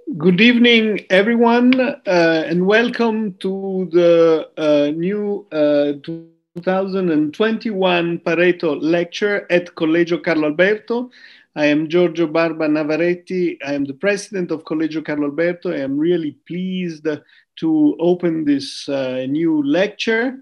Good evening, everyone, and welcome to the new 2021 Pareto Lecture at Collegio Carlo Alberto. I am Giorgio Barba Navaretti. I am the president of Collegio Carlo Alberto. I am really pleased to open this new lecture.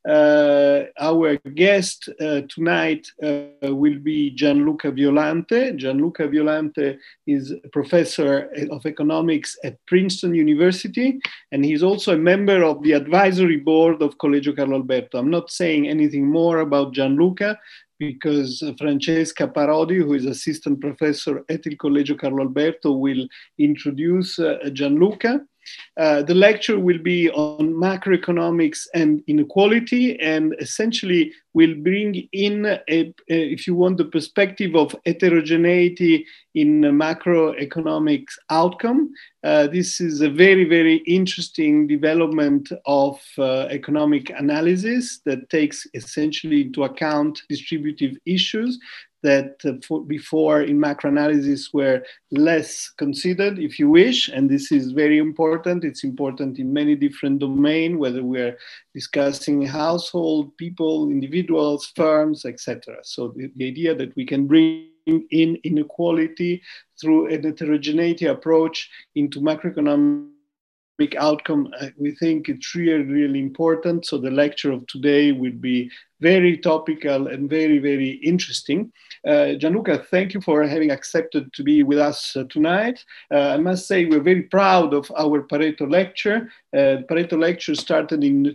Our guest tonight will be Gianluca Violante. Gianluca Violante is a professor of economics at Princeton University, and he's also a member of the advisory board of Collegio Carlo Alberto. I'm not saying anything more about Gianluca because Francesca Parodi, who is assistant professor at Il Collegio Carlo Alberto, will introduce Gianluca. The lecture will be on macroeconomics and inequality, and essentially will bring in, if you want, the perspective of heterogeneity in macroeconomics outcome. This is a very, very interesting development of economic analysis that takes essentially into account distributive issues that before in macro analysis were less considered, if you wish, and this is very important. It's important in many different domains, whether we're discussing household, people, individuals, firms, etc. So the idea that we can bring in inequality through a heterogeneity approach into macroeconomic outcome, we think it's really, really important. So the lecture of today will be very topical and very, very interesting. Gianluca, thank you for having accepted to be with us tonight. I must say we're very proud of our Pareto lecture. The Pareto lecture started in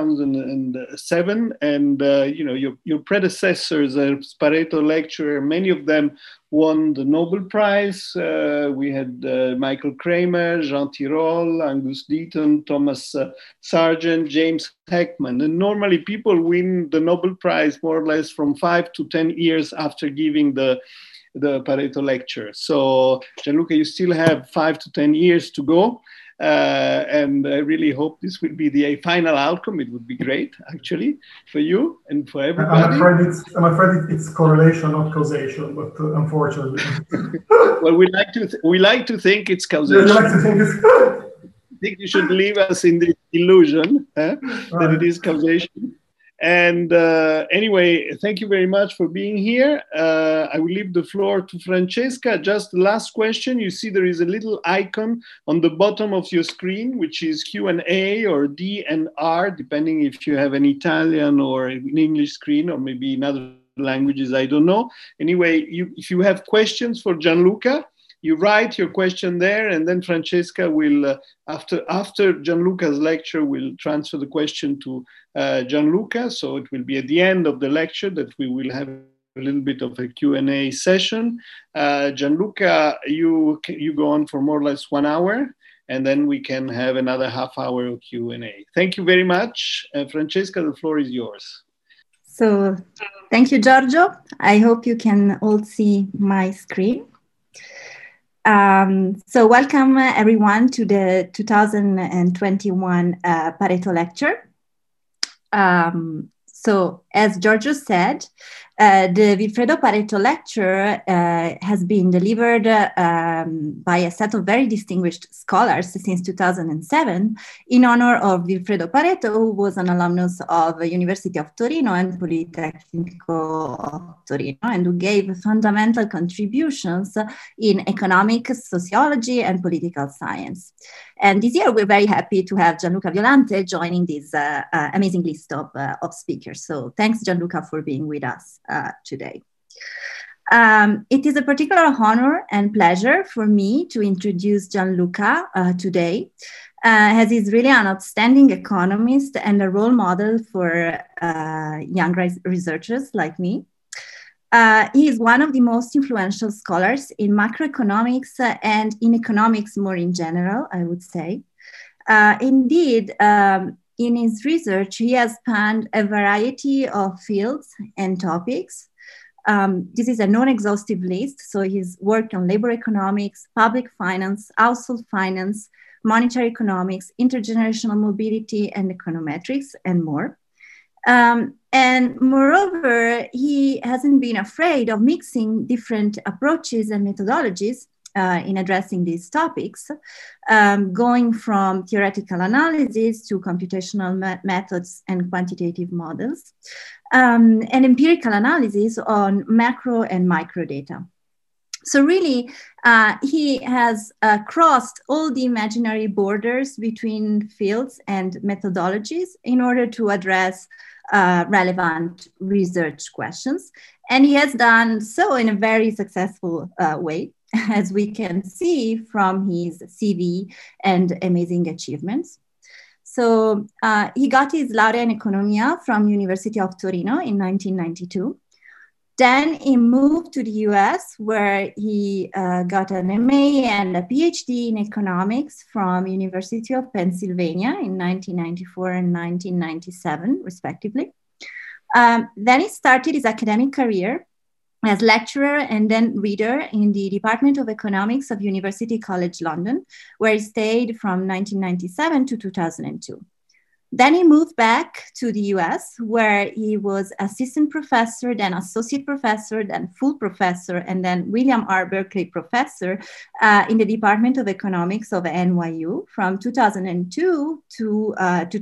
2007, and your predecessors as Pareto lecturer, many of them won the Nobel Prize. We had Michael Kramer, Jean Tirole, Angus Deaton, Thomas Sargent, James Heckman. And normally people win the Nobel Prize more or less from 5 to 10 years after giving the Pareto lecture. So Gianluca, you still have 5 to 10 years to go. And I really hope this will be the final outcome. It would be great, actually, for you and for everybody. I'm afraid it's correlation, not causation, but unfortunately. Well, we like to think it's causation. You like to think it's I think you should leave us in the illusion that it is causation. And anyway, thank you very much for being here. I will leave the floor to Francesca. Just the last question. You see there is a little icon on the bottom of your screen, which is Q&A or D and R, depending if you have an Italian or an English screen, or maybe in other languages, I don't know. Anyway, if you have questions for Gianluca, you write your question there, and then Francesca will, after Gianluca's lecture, will transfer the question to Gianluca. So it will be at the end of the lecture that we will have a little bit of a Q&A session. Gianluca, you go on for more or less 1 hour, and then we can have another half-hour of Q&A. Thank you very much. Francesca, the floor is yours. So thank you, Giorgio. I hope you can all see my screen. So welcome everyone to the 2021 Pareto lecture. So as Giorgio said, the Vilfredo Pareto lecture has been delivered by a set of very distinguished scholars since 2007 in honor of Vilfredo Pareto, who was an alumnus of the University of Torino and Politecnico of Torino, and who gave fundamental contributions in economic, sociology, and political science. And this year, we're very happy to have Gianluca Violante joining this amazing list of speakers. So thanks, Gianluca, for being with us today. It is a particular honor and pleasure for me to introduce Gianluca today, as he's really an outstanding economist and a role model for young researchers like me. He is one of the most influential scholars in macroeconomics and in economics more in general, I would say. Indeed, in his research, he has spanned a variety of fields and topics. This is a non-exhaustive list, so he's worked on labor economics, public finance, household finance, monetary economics, intergenerational mobility, and econometrics, and more. And moreover, he hasn't been afraid of mixing different approaches and methodologies in addressing these topics, going from theoretical analysis to computational methods and quantitative models, and empirical analysis on macro and micro data. So really, he has crossed all the imaginary borders between fields and methodologies in order to address relevant research questions. And he has done so in a very successful way, as we can see from his CV and amazing achievements. So he got his laurea in economia from University of Torino in 1992. Then he moved to the US, where he got an MA and a PhD in economics from University of Pennsylvania in 1994 and 1997, respectively. Then he started his academic career as lecturer and then reader in the Department of Economics of University College London, where he stayed from 1997 to 2002. Then he moved back to the US, where he was assistant professor, then associate professor, then full professor, and then William R. Berkeley professor in the Department of Economics of NYU from 2002 to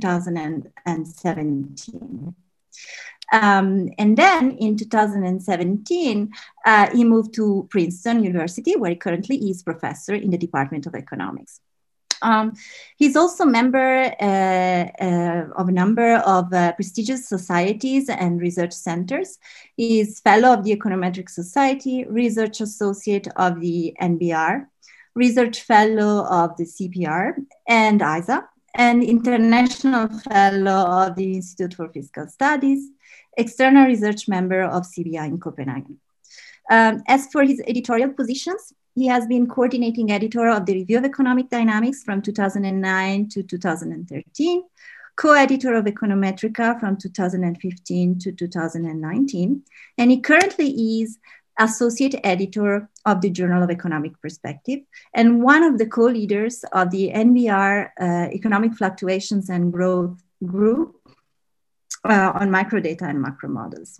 2017. And then in 2017, he moved to Princeton University, where he currently is professor in the Department of Economics. He's also member of a number of prestigious societies and research centers. He's fellow of the Econometric Society, research associate of the NBR, research fellow of the CPR and ISA, and international fellow of the Institute for Fiscal Studies, external research member of CBI in Copenhagen. As for his editorial positions, he has been coordinating editor of the Review of Economic Dynamics from 2009 to 2013, co-editor of Econometrica from 2015 to 2019, and he currently is associate editor of the Journal of Economic Perspective and one of the co-leaders of the NBR Economic Fluctuations and Growth Group on microdata and macro models.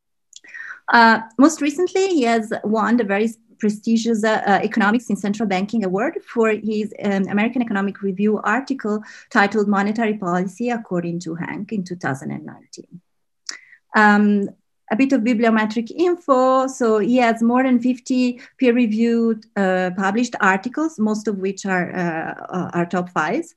Most recently, he has won the very prestigious Economics in Central Banking Award for his American Economic Review article titled Monetary Policy According to Hank in 2019. A bit of bibliometric info. So he has more than 50 peer-reviewed published articles, most of which are top fives,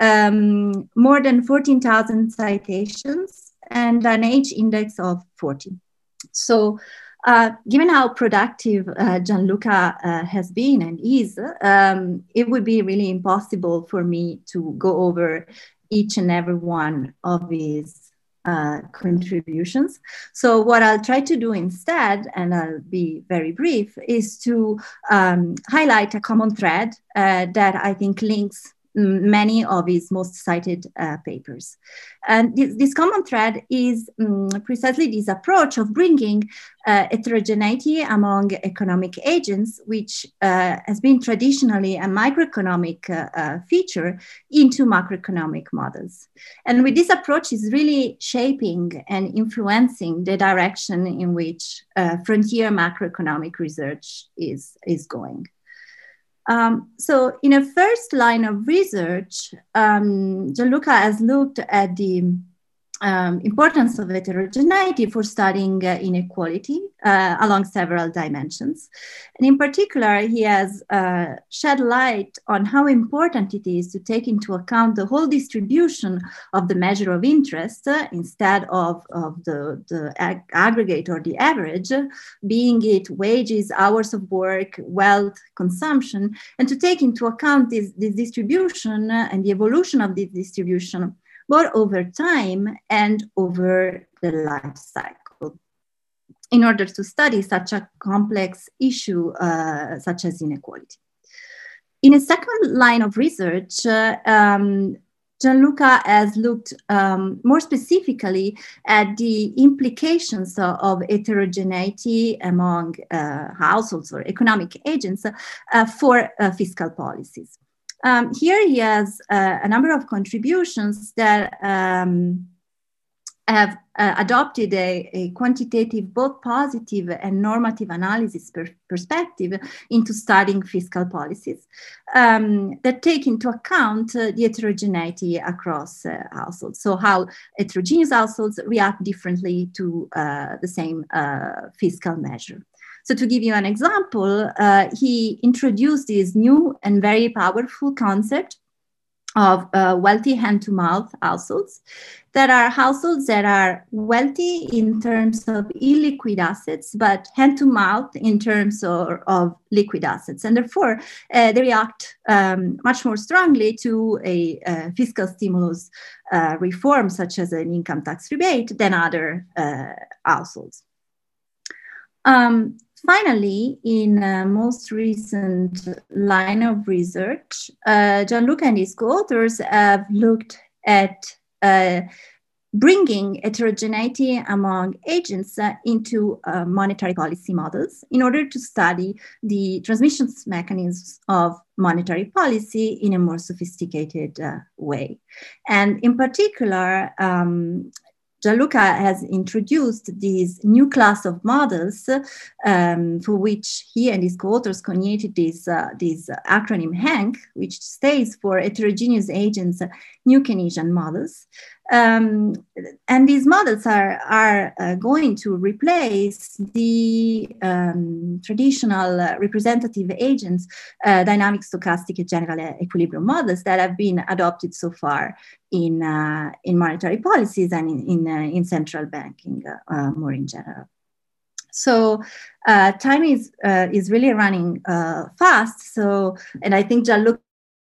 more than 14,000 citations, and an age index of 40. So given how productive Gianluca has been and is, it would be really impossible for me to go over each and every one of his contributions. So what I'll try to do instead, and I'll be very brief, is to highlight a common thread that I think links many of his most cited papers. And this common thread is precisely this approach of bringing heterogeneity among economic agents, which has been traditionally a microeconomic feature, into macroeconomic models. And with this approach is really shaping and influencing the direction in which frontier macroeconomic research is going. So in a first line of research, Gianluca has looked at the importance of heterogeneity for studying inequality along several dimensions. And in particular, he has shed light on how important it is to take into account the whole distribution of the measure of interest instead of the aggregate or the average, being it wages, hours of work, wealth, consumption, and to take into account this distribution and the evolution of this distribution both over time and over the life cycle, in order to study such a complex issue such as inequality. In a second line of research, Gianluca has looked more specifically at the implications of heterogeneity among households or economic agents for fiscal policies. Here he has a number of contributions that have adopted a quantitative, both positive and normative analysis perspective into studying fiscal policies that take into account the heterogeneity across households. So how heterogeneous households react differently to the same fiscal measure. So to give you an example, he introduced this new and very powerful concept of wealthy hand-to-mouth households, that are households that are wealthy in terms of illiquid assets, but hand-to-mouth in terms of liquid assets. And therefore, they react much more strongly to a fiscal stimulus reform, such as an income tax rebate, than other households. Finally, in a most recent line of research, Gianluca and his co-authors have looked at bringing heterogeneity among agents into monetary policy models in order to study the transmission mechanisms of monetary policy in a more sophisticated way. And in particular, Gianluca has introduced this new class of models for which he and his co-authors created this acronym HANK, which stands for Heterogeneous Agents New Keynesian Models. And these models are going to replace the traditional representative agents, dynamic, stochastic, and general equilibrium models that have been adopted so far in monetary policies and in central banking more in general. So time is really running fast. So, and I think Gianluca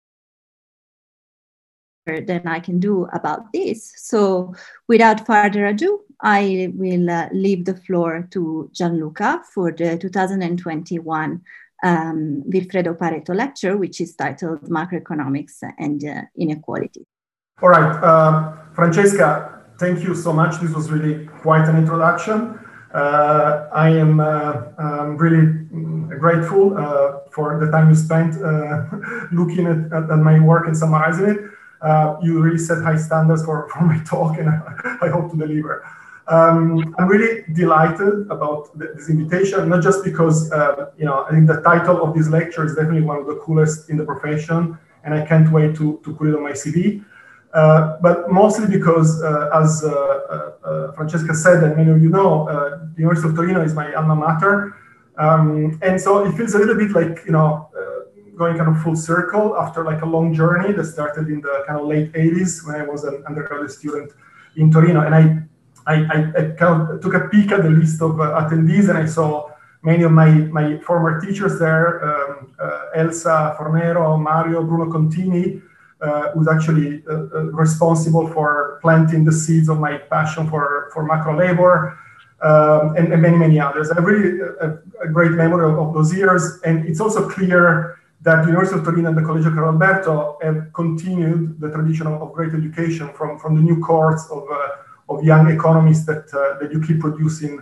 than I can do about this. So without further ado, I will leave the floor to Gianluca for the 2021 Vilfredo Pareto lecture, which is titled Macroeconomics and Inequality. All right, Francesca, thank you so much. This was really quite an introduction. I am really grateful for the time you spent looking at my work and summarizing it. You really set high standards for my talk, and I hope to deliver. I'm really delighted about this invitation, not just because I think the title of this lecture is definitely one of the coolest in the profession, and I can't wait to put it on my CV. But mostly because, as Francesca said, and many of you know, the University of Torino is my alma mater, and so it feels a little bit like going kind of full circle after like a long journey that started in the kind of late 80s when I was an undergraduate student in Torino. And I kind of took a peek at the list of attendees, and I saw many of my former teachers there, Elsa Fornero, Mario, Bruno Contini, who's actually responsible for planting the seeds of my passion for macro labor, and many, many others. I have really a great memory of those years, and it's also clear that the University of Torino and the Collegio Carlo Alberto have continued the tradition of great education from the new cohorts of young economists that you keep producing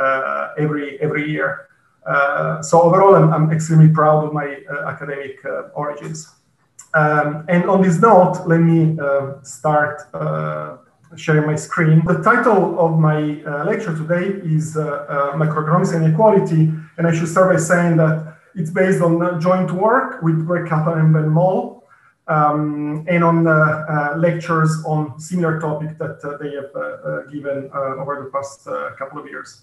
every year. So overall, I'm extremely proud of my academic origins. And on this note, let me start sharing my screen. The title of my lecture today is Macroeconomics and Inequality, and I should start by saying that it's based on joint work with Greg Kaplan and Ben Moll, and on lectures on similar topics that they have given over the past couple of years.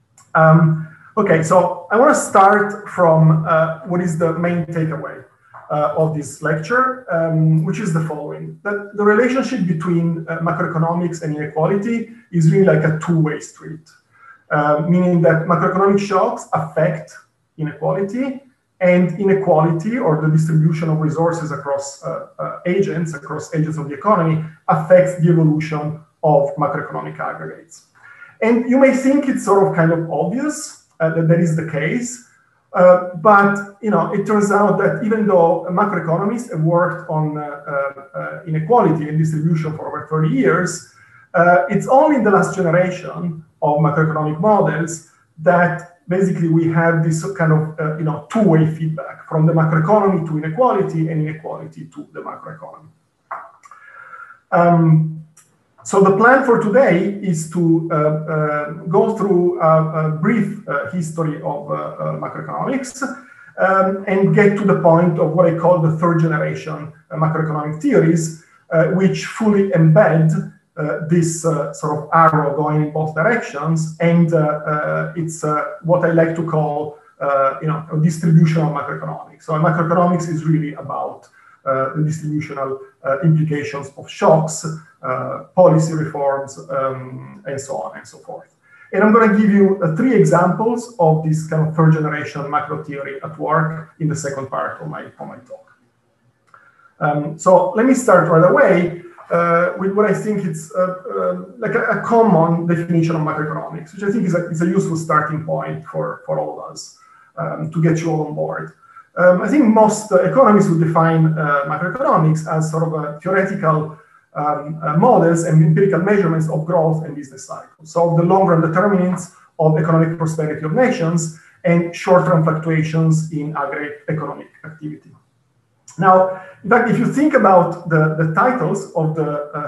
Okay, so I want to start from what is the main takeaway of this lecture, which is the following: that the relationship between macroeconomics and inequality is really like a two-way street, meaning that macroeconomic shocks affect inequality, and inequality, or the distribution of resources across agents of the economy, affects the evolution of macroeconomic aggregates. And you may think it's sort of kind of obvious that is the case, but it turns out that even though macroeconomists have worked on inequality and distribution for over 30 years, it's only in the last generation of macroeconomic models that basically we have this kind of two-way feedback from the macroeconomy to inequality and inequality to the macroeconomy. So the plan for today is to go through a brief history of macroeconomics and get to the point of what I call the third generation macroeconomic theories, which fully embed this sort of arrow going in both directions, and it's what I like to call a distributional macroeconomics. So macroeconomics is really about the distributional implications of shocks, policy reforms, and so on and so forth. And I'm going to give you 3 examples of this kind of third generation macro theory at work in the second part of my talk. So let me start right away with what I think is like a common definition of macroeconomics, which I think is a useful starting point for all of us to get you all on board. I think most economists would define macroeconomics as sort of a theoretical models and empirical measurements of growth and business cycles. So the long-run determinants of economic prosperity of nations and short-term fluctuations in aggregate economic activity. Now, in fact, if you think about the titles of the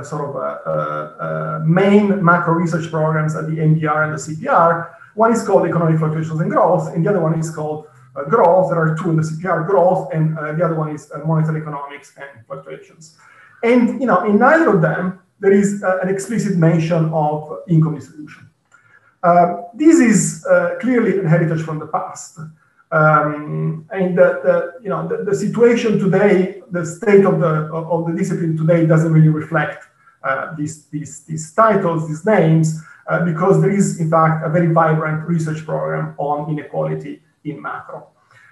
main macro research programs at the NBR and the CPR, one is called Economic Fluctuations and Growth, and the other one is called Growth. There are 2 in the CPR, Growth, and the other one is Monetary Economics and Fluctuations. And in neither of them, there is an explicit mention of income distribution. This is clearly a heritage from the past. And the situation today, the state of the discipline today doesn't really reflect these titles, these names, because there is, in fact, a very vibrant research program on inequality in macro.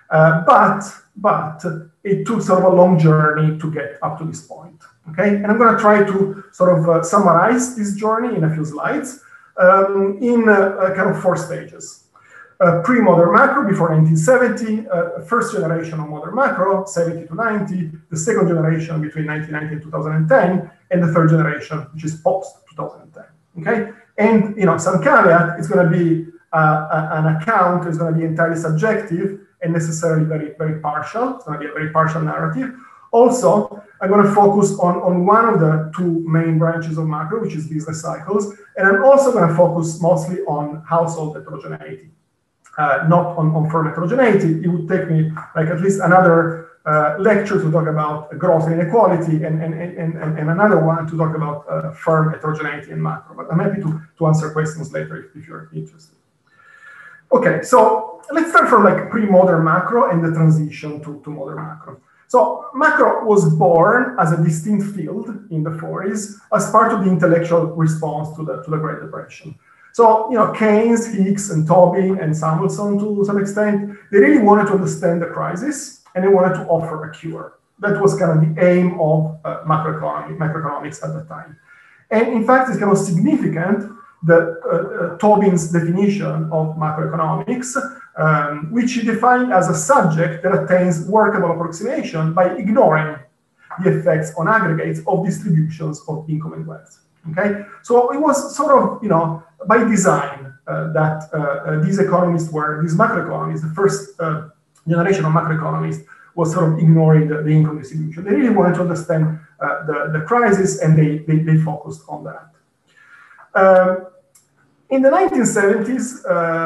But it took sort of a long journey to get up to this point. Okay, and I'm going to try to sort of summarize this journey in a few slides in kind of 4 stages. Pre-modern macro before 1970, first generation of modern macro, 70 to 90, the second generation between 1990 and 2010, and the third generation, which is post-2010. Okay, and some caveat, it's going to be an account, is going to be entirely subjective and necessarily very, very partial. It's going to be a very partial narrative. Also, I'm going to focus on one of the 2 main branches of macro, which is business cycles. And I'm also going to focus mostly on household heterogeneity, not on firm heterogeneity. It would take me like at least another lecture to talk about growth and inequality and another one to talk about firm heterogeneity in macro. But I'm happy to answer questions later if you're interested. Okay, so let's start from like pre-modern macro and the transition to modern macro. So macro was born as a distinct field in the 40s as part of the intellectual response to the Great Depression. So, Keynes, Hicks, and Tobin, and Samuelson to some extent, they really wanted to understand the crisis and they wanted to offer a cure. That was kind of the aim of macroeconomics at the time. And in fact, it's kind of significant that Tobin's definition of macroeconomics, which he defined as a subject that attains workable approximation by ignoring the effects on aggregates of distributions of income and wealth. Okay, so it was sort of, by design that these macroeconomists, the first generation of macroeconomists, was sort of ignoring the income distribution. They really wanted to understand the crisis, and they focused on that. In the 1970s,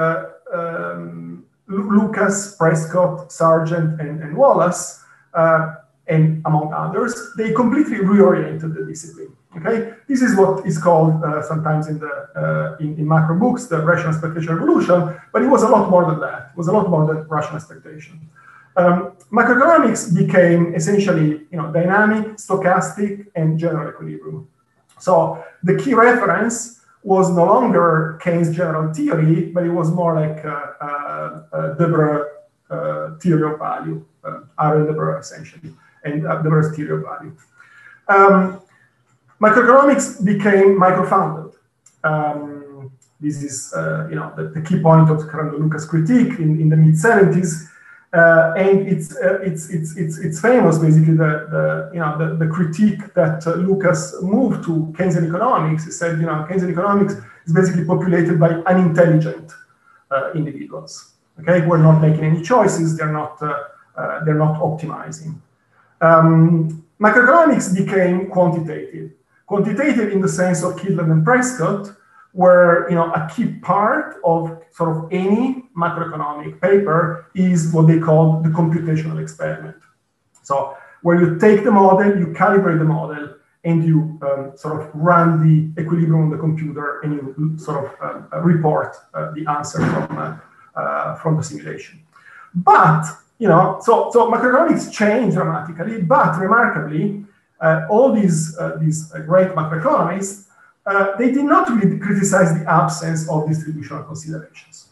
Lucas, Prescott, Sargent, and Wallace, and among others, they completely reoriented the discipline. Okay, this is what is called sometimes in macro books the rational expectation revolution, but it was a lot more than that. It was a lot more than rational expectation. Macroeconomics became essentially, dynamic, stochastic, and general equilibrium. So the key reference was no longer Keynes' general theory, but it was more like Debreu theory of value, Aaron Debreu essentially, and Debreu's theory of value. Macroeconomics became micro-founded. This is, the key point of kind of the Lucas critique in the mid-70s, and it's famous basically the critique that Lucas moved to Keynesian economics. He said, Keynesian economics is basically populated by unintelligent individuals. Okay, who are not making any choices. They're not optimizing. Macroeconomics became quantitative. Quantitative in the sense of Kydland and Prescott, where a key part of sort of any macroeconomic paper is what they call the computational experiment. So where you take the model, you calibrate the model, and you sort of run the equilibrium on the computer, and you sort of report the answer from the simulation. But so macroeconomics changed dramatically, but remarkably, all these great macroeconomists, they did not really criticize the absence of distributional considerations.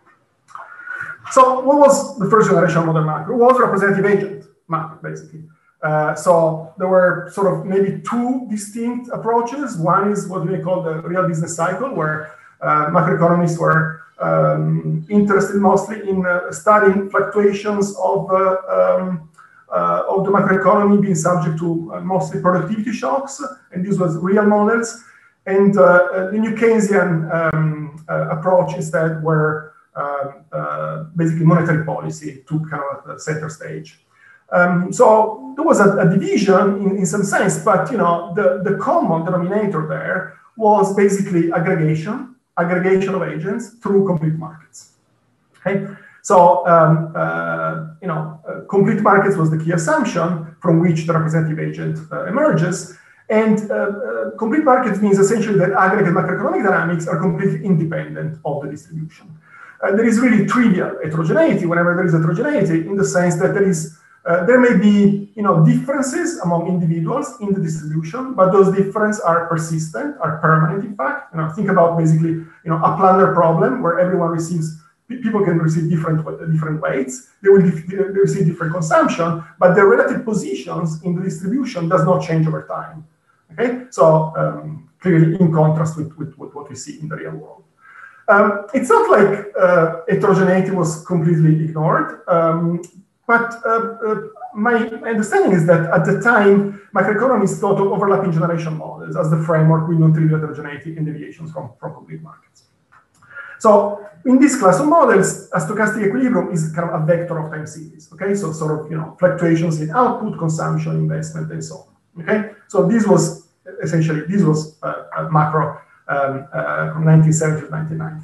So what was the first generation of modern macro? It was representative agent macro, basically. So there were sort of maybe two distinct approaches. One is what we call the real business cycle, where macroeconomists were interested mostly in studying fluctuations of the macroeconomy being subject to mostly productivity shocks, and these was real models. And the New Keynesian approach instead were basically monetary policy took kind of a center stage. So there was a division in some sense, but the common denominator there was basically aggregation of agents through complete markets. Okay, so complete markets was the key assumption from which the representative agent emerges. And complete markets means essentially that aggregate macroeconomic dynamics are completely independent of the distribution. There is really trivial heterogeneity whenever there is heterogeneity, in the sense that there may be differences among individuals in the distribution, but those differences are persistent, are permanent. In fact, think about basically a planar problem where everyone receives. People can receive different weights. They will receive different consumption, but their relative positions in the distribution does not change over time. Okay, so clearly in contrast with what we see in the real world. It's not like heterogeneity was completely ignored, but my understanding is that at the time, macroeconomists thought of overlapping generation models as the framework with non-trivial heterogeneity and deviations from complete markets. So in this class of models, a stochastic equilibrium is kind of a vector of time series. Okay, so sort of fluctuations in output, consumption, investment, and so on. Okay, so this was essentially a macro from 1970 to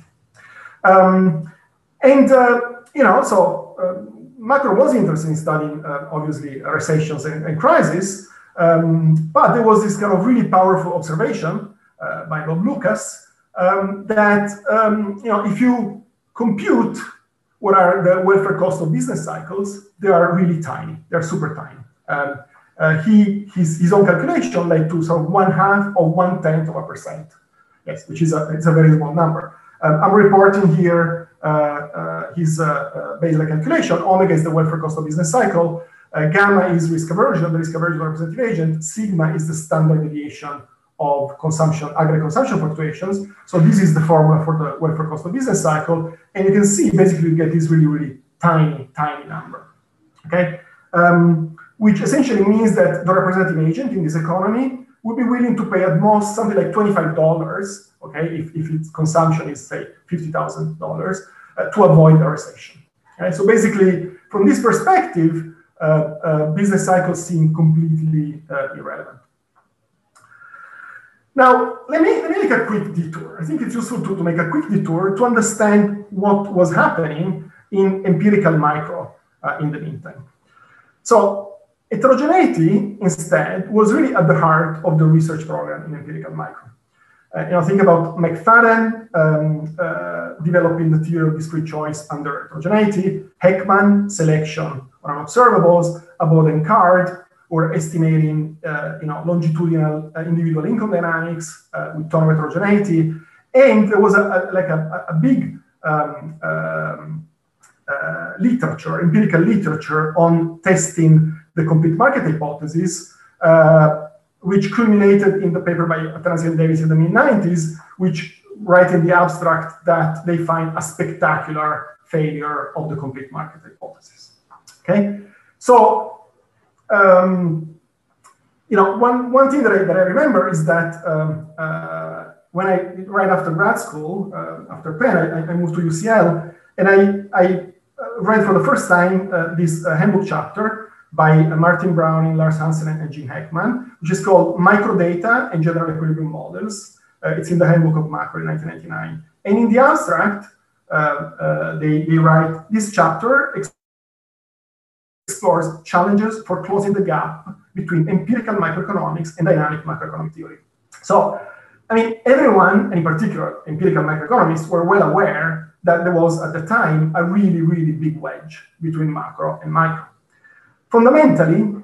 1990. Macro was interested in studying obviously recessions and crises, but there was this kind of really powerful observation by Bob Lucas. That if you compute what are the welfare cost of business cycles, they are really tiny. They're super tiny. His own calculation led to sort of 1/2 or 1/10 of a percent. Yes, which is it's a very small number. I'm reporting here his baseline calculation. Omega is the welfare cost of business cycle. Gamma is risk aversion, the risk aversion representative agent. Sigma is the standard deviation of consumption, aggregate consumption fluctuations. So this is the formula for the welfare cost of business cycle. And you can see basically you get this really, really tiny number. Okay, which essentially means that the representative agent in this economy would be willing to pay at most something like $25, okay, if its consumption is, say, $50,000, to avoid a recession. Okay? So basically, from this perspective, business cycles seem completely irrelevant. Now, let me make a quick detour. I think it's useful to make a quick detour to understand what was happening in empirical micro in the meantime. So heterogeneity, instead, was really at the heart of the research program in empirical micro. Think about McFadden developing the theory of discrete choice under heterogeneity, Heckman, selection on observables, Abode and Card, or estimating longitudinal individual income dynamics with tone of heterogeneity. And there was a big literature, empirical literature on testing the complete market hypothesis, which culminated in the paper by Atanasi and Davis in the mid-90s, which write in the abstract that they find a spectacular failure of the complete market hypothesis. Okay, so one thing that I remember is that when right after grad school, after Penn, I moved to UCL, and I read for the first time this handbook chapter by Martin Browning, Lars Hansen, and Jim Heckman, which is called Microdata and General Equilibrium Models. It's in the Handbook of Macro in 1999. And in the abstract, they write, this chapter explores challenges for closing the gap between empirical macroeconomics and dynamic macroeconomic theory. So, I mean, everyone, and in particular empirical macroeconomists, were well aware that there was at the time a really, really big wedge between macro and micro. Fundamentally,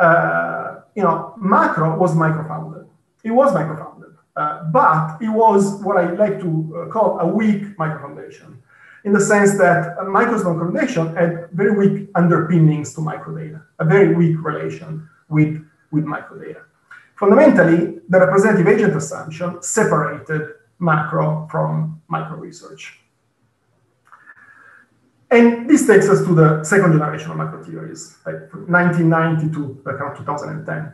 macro was micro-founded. It was micro-founded, but it was what I like to call a weak micro-foundation, in the sense that a micro-small foundation had very weak underpinnings to microdata, a very weak relation with microdata. Fundamentally, the representative agent assumption separated macro from micro research. And this takes us to the second generation of macro theories, like from 1990 to around 2010.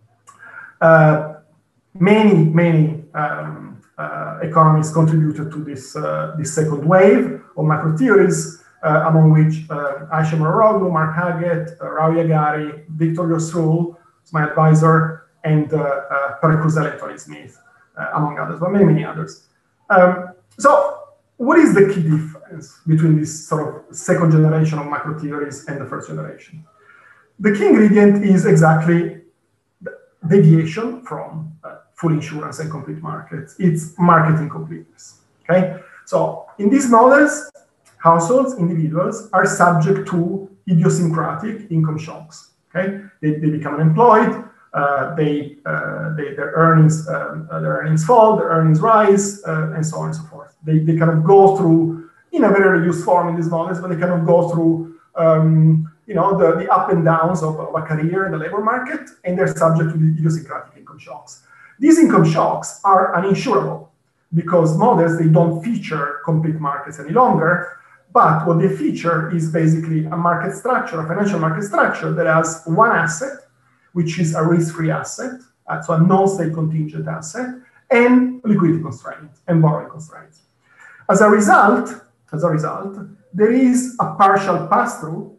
Many economists contributed to this second wave of macro theories, among which Ayesha Mororoglu, Mark Haggett, Rao Yagari, Victor Yosrul, my advisor, and Per Krusell and Tony Smith, among others, but many others. So what is the key difference between this sort of second generation of macro theories and the first generation? The key ingredient is exactly deviation from full insurance and complete markets. It's market incompleteness, okay? So in these models, households, individuals are subject to idiosyncratic income shocks, okay? They become unemployed, their earnings fall, their earnings rise, and so on and so forth. They kind of go through, in a very reduced form in these models, but they kind of go through, the up and downs of a career in the labor market, and they're subject to the idiosyncratic income shocks. These income shocks are uninsurable because models, they don't feature complete markets any longer, but what they feature is basically a market structure, a financial market structure that has one asset, which is a risk-free asset, so a non-state contingent asset, and liquidity constraints and borrowing constraints. As a result, there is a partial pass-through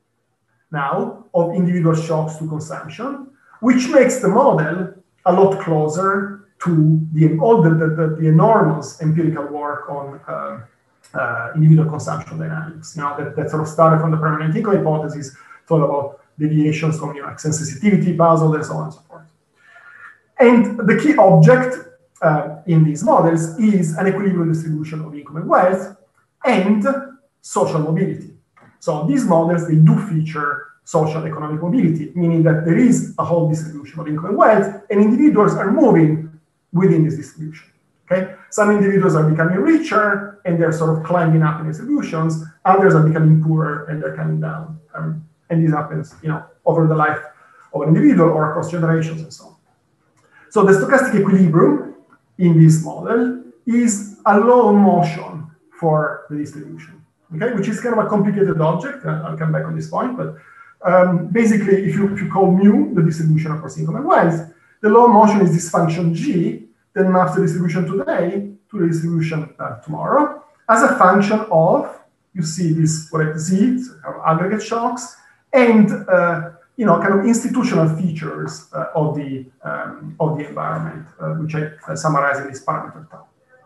now of individual shocks to consumption, which makes the model a lot closer to the enormous empirical work on individual consumption dynamics. That sort of started from the permanent income hypothesis, thought about deviations from accent sensitivity puzzle and so on and so forth. And the key object in these models is an equilibrium distribution of income and wealth and social mobility. So these models, they do feature social economic mobility, meaning that there is a whole distribution of income and wealth, and individuals are moving within this distribution. Okay? Some individuals are becoming richer and they're sort of climbing up in distributions, others are becoming poorer and they're coming down. And this happens, over the life of an individual or across generations and so on. So the stochastic equilibrium in this model is a law of motion for the distribution, okay? Which is kind of a complicated object. I'll come back on this point, but basically, if you call mu the distribution across income and wealth, the law of motion is this function g that maps the distribution today to the distribution tomorrow as a function of, you see this, z, aggregate shocks, and kind of institutional features of the environment, which I summarize in this parameter tau.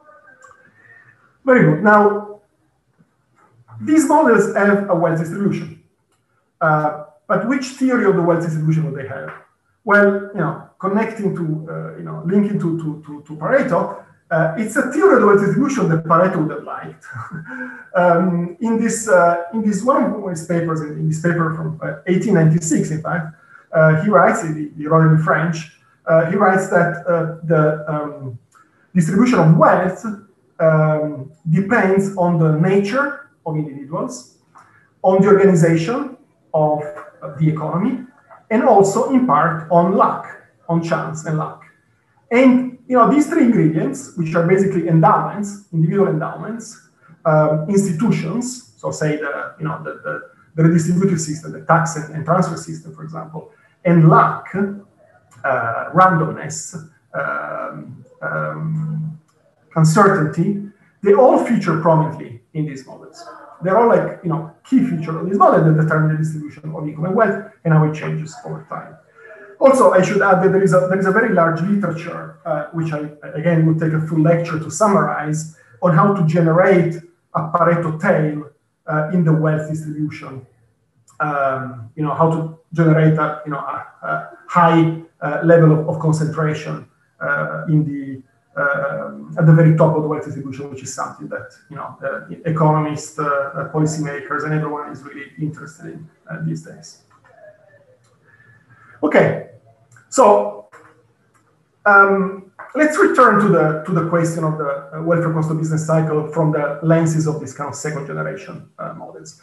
Very good. Now, these models have a wealth distribution, but which theory of the wealth distribution would they have? Well, connecting to, linking to Pareto, it's a theory of the wealth distribution that Pareto would have liked. In this one of his papers, in this paper from 1896, in fact, he writes, he wrote in French, he writes that the distribution of wealth depends on the nature of individuals, on the organization of the economy, and also in part on luck, on chance and luck. And these three ingredients, which are basically endowments, individual endowments, institutions, so say the redistributive system, the tax and transfer system, for example, and luck, randomness, uncertainty, they all feature prominently in these models. they're all like, key features of this model that determine the distribution of income and wealth and how it changes over time. Also, I should add that there is a very large literature, which I, again, would take a full lecture to summarize, on how to generate a Pareto tail in the wealth distribution. How to generate a high level of concentration at the very top of the wealth distribution, which is something that economists, policymakers, and everyone is really interested in these days. Okay, so let's return to the question of the welfare cost of business cycle from the lenses of these kind of second generation models.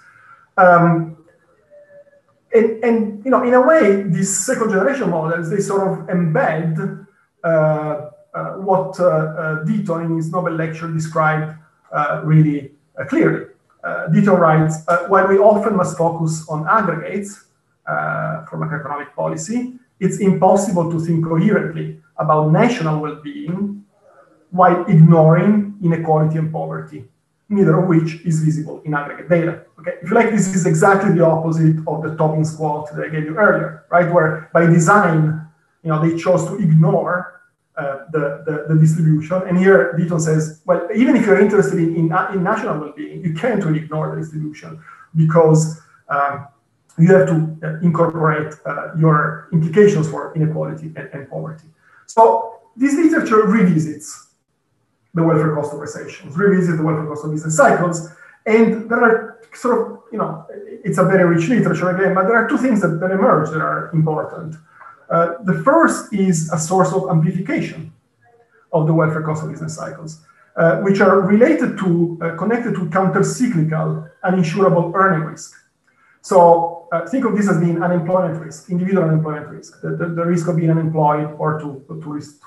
And in a way, these second generation models, they sort of embed what Deaton in his Nobel lecture described really clearly. Deaton writes, while we often must focus on aggregates for macroeconomic policy, it's impossible to think coherently about national well-being while ignoring inequality and poverty, neither of which is visible in aggregate data. Okay, if you like, this is exactly the opposite of the Toppings quote that I gave you earlier, right? Where by design, they chose to ignore the distribution. And here Deaton says, well, even if you're interested in national well-being, you can't really ignore the distribution because you have to incorporate your implications for inequality and poverty. So this literature revisits the welfare cost of recessions, revisits the welfare cost of business cycles, and there are sort of, it's a very rich literature again, but there are two things that emerge that are important. The first is a source of amplification of the welfare cost of business cycles, which are related to, connected to counter-cyclical uninsurable earning risk. So think of this as being unemployment risk, individual unemployment risk, the risk of being unemployed or risk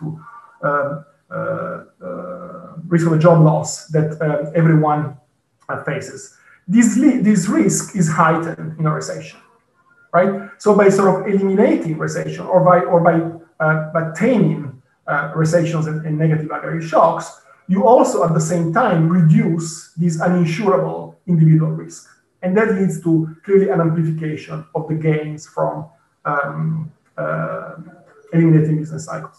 of a job loss that everyone faces. This risk is heightened in a recession, right? So by sort of eliminating recession or by taming recessions and negative aggregate shocks, you also at the same time reduce this uninsurable individual risk. And that leads to clearly an amplification of the gains from eliminating business cycles.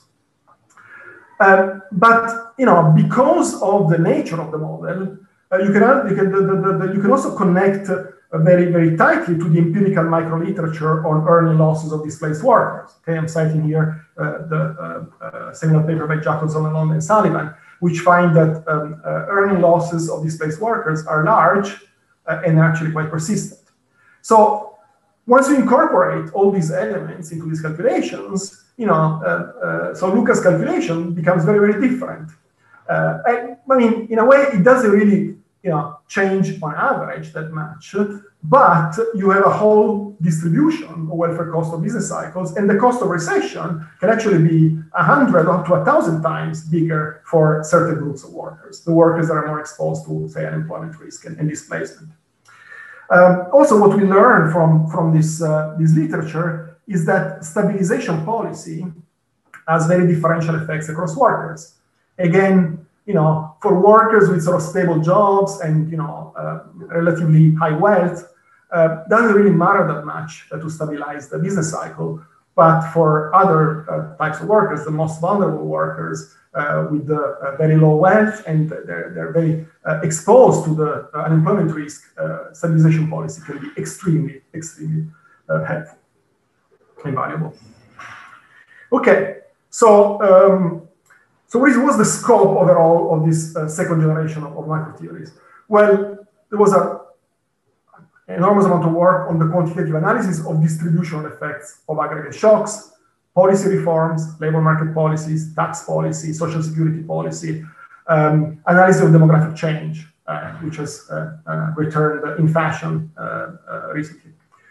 But because of the nature of the model, you can also connect very, very tightly to the empirical microliterature on earning losses of displaced workers. Okay, I'm citing here the seminal paper by Jacobson, Lalonde, and Sullivan, which find that earning losses of displaced workers are large and actually quite persistent. So once you incorporate all these elements into these calculations, so Lucas' calculation becomes very, very different. I mean, in a way, it doesn't really, change on average that much, but you have a whole distribution of welfare cost of business cycles, and the cost of recession can actually be 100 up to 1,000 times bigger for certain groups of workers, the workers that are more exposed to, say, unemployment risk and displacement. Also, what we learn from this literature is that stabilization policy has very differential effects across workers. Again, for workers with sort of stable jobs and relatively high wealth, doesn't really matter that much to stabilize the business cycle. But for other types of workers, the most vulnerable workers with the very low wealth and they're very exposed to the unemployment risk, stabilization policy can be extremely, extremely helpful and valuable. Okay, so what was the scope overall of this second generation of macro theories? Well, there was an enormous amount of work on the quantitative analysis of distributional effects of aggregate shocks, policy reforms, labor market policies, tax policy, social security policy, analysis of demographic change, which has returned in fashion recently.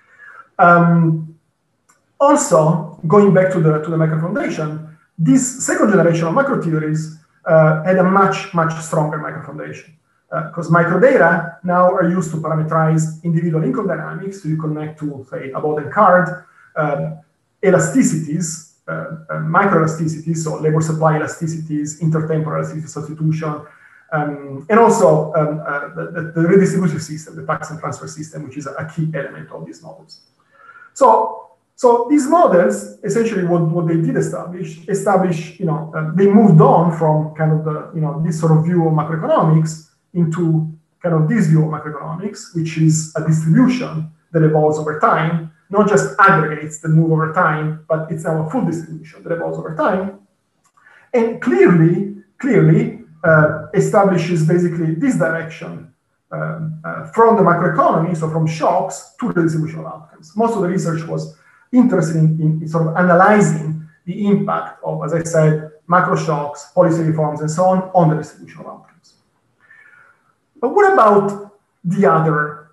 Also, going back to the macro foundation, this second generation of macro theories had a much, much stronger macro foundation because microdata now are used to parameterize individual income dynamics. So you connect to, say, Abode and Card, elasticities, microelasticities, so labor supply elasticities, intertemporal elasticity substitution, And also the redistributive system, the tax and transfer system, which is a key element of these models. So these models, essentially what they did establish, they moved on from kind of the, this sort of view of macroeconomics into kind of this view of macroeconomics, which is a distribution that evolves over time, not just aggregates that move over time, but it's now a full distribution that evolves over time. And clearly establishes basically this direction from the macroeconomy, so from shocks to the distribution of outcomes. Most of the research was interested in sort of analyzing the impact of, as I said, macro shocks, policy reforms, and so on the distribution of outcomes. But what about the other,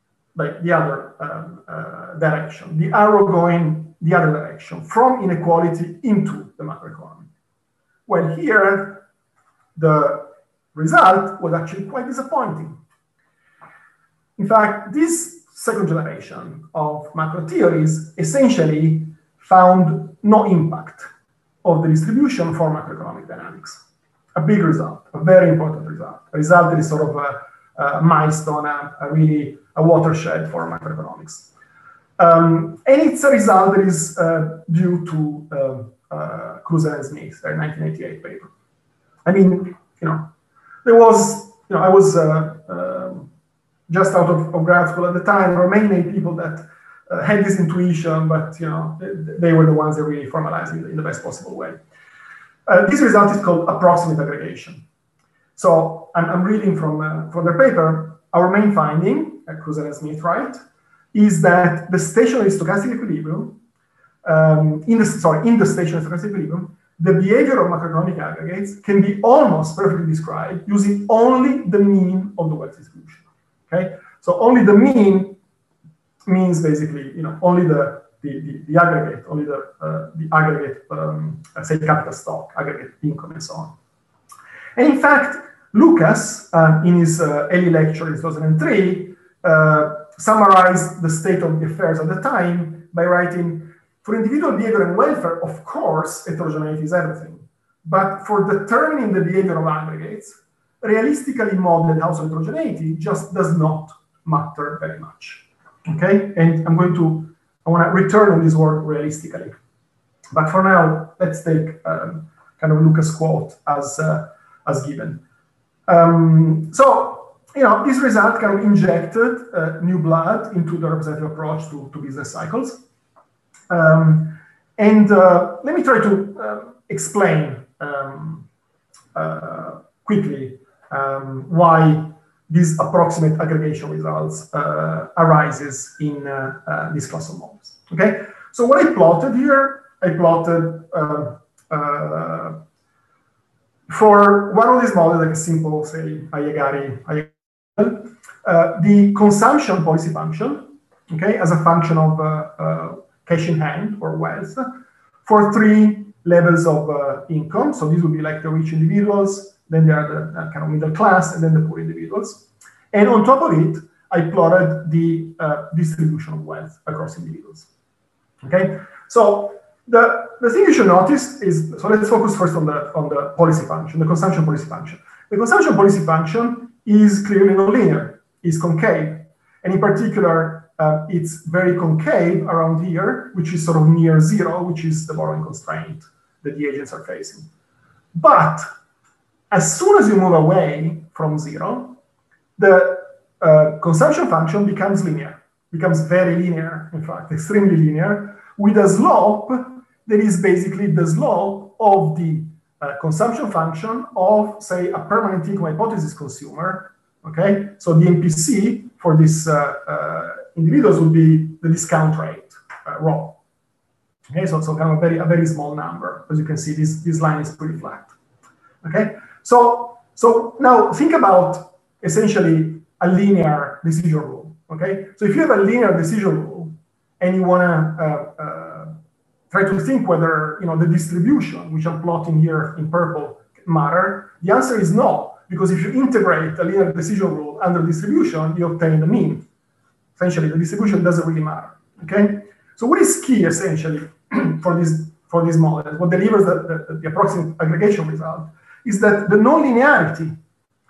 direction, the arrow going the other direction, from inequality into the macroeconomy? Well, here, the result was actually quite disappointing. In fact, this second generation of macro theories essentially found no impact of the distribution for macroeconomic dynamics. A big result, a very important result, a result that is sort of a milestone, a watershed for macroeconomics. And it's a result that is due to Kruser and Smith, their 1988 paper. I mean, there was, I was just out of grad school at the time. There were many people that had this intuition, but they were the ones that really formalized it in the best possible way. This result is called approximate aggregation. So I'm reading from their paper. Our main finding, Kruser and Smith, right, is that the stationary stochastic equilibrium, in the stationary stochastic equilibrium, the behavior of macroeconomic aggregates can be almost perfectly described using only the mean of the wealth distribution. Okay, so only the mean means basically, only the aggregate, only the aggregate, say capital stock, aggregate income, and so on. And in fact, Lucas, in his early lecture in 2003, summarized the state of the affairs at the time by writing, for individual behavior and welfare, of course, heterogeneity is everything. But for determining the behavior of aggregates, realistically modeled household heterogeneity just does not matter very much. Okay, and I want to return on this word realistically. But for now, let's take kind of Lucas' quote as given. So, this result kind of injected new blood into the representative approach to business cycles. And let me try to explain quickly why these approximate aggregation results arises in this class of models. Okay, so what I plotted here, I plotted for one of these models, like a simple, say, Ayagari, the consumption policy function, okay, as a function of cash in hand or wealth for 3 levels of income. So these would be like the rich individuals, then there are the kind of middle class, and then the poor individuals. And on top of it, I plotted the distribution of wealth across individuals. Okay, so the thing you should notice is, so let's focus first on the policy function, the consumption policy function. The consumption policy function is clearly nonlinear, is concave, and in particular, it's very concave around here, which is sort of near 0, which is the borrowing constraint that the agents are facing. But as soon as you move away from 0, the consumption function becomes linear, becomes very linear, in fact, extremely linear, with a slope that is basically the slope of the consumption function of, say, a permanent income hypothesis consumer. Okay, so the MPC for this individuals would be the discount rate, rho. Okay, so kind of a very small number. As you can see, this line is pretty flat. Okay, so now think about essentially a linear decision rule. Okay, so if you have a linear decision rule and you want to try to think whether the distribution, which I'm plotting here in purple, matter, the answer is no, because if you integrate a linear decision rule under distribution, you obtain the mean. Essentially, the distribution doesn't really matter. Okay, so what is key essentially for this model, what delivers the approximate aggregation result, is that the nonlinearity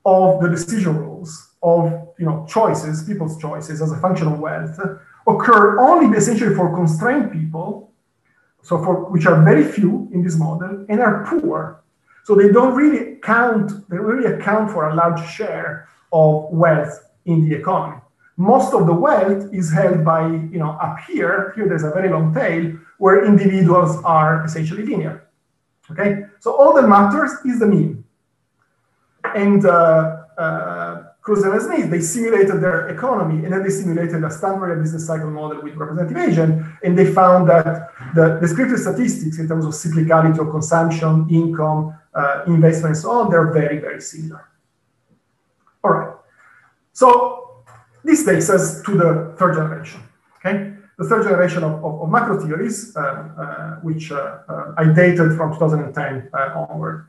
of the decision rules of choices, people's choices as a function of wealth, occur only essentially for constrained people, so for which are very few in this model and are poor. So they don't really account for a large share of wealth in the economy. Most of the wealth is held by, up here there's a very long tail where individuals are essentially linear. Okay, so all that matters is the mean. And Kruse and Smith, they simulated their economy, and then they simulated a standard business cycle model with representative agent, and they found that the descriptive statistics in terms of cyclicality of consumption, income, investment, and so on, they're very, very similar. All right. So this takes us to the third generation. Okay, the third generation of macro theories, which I dated from 2010 onward.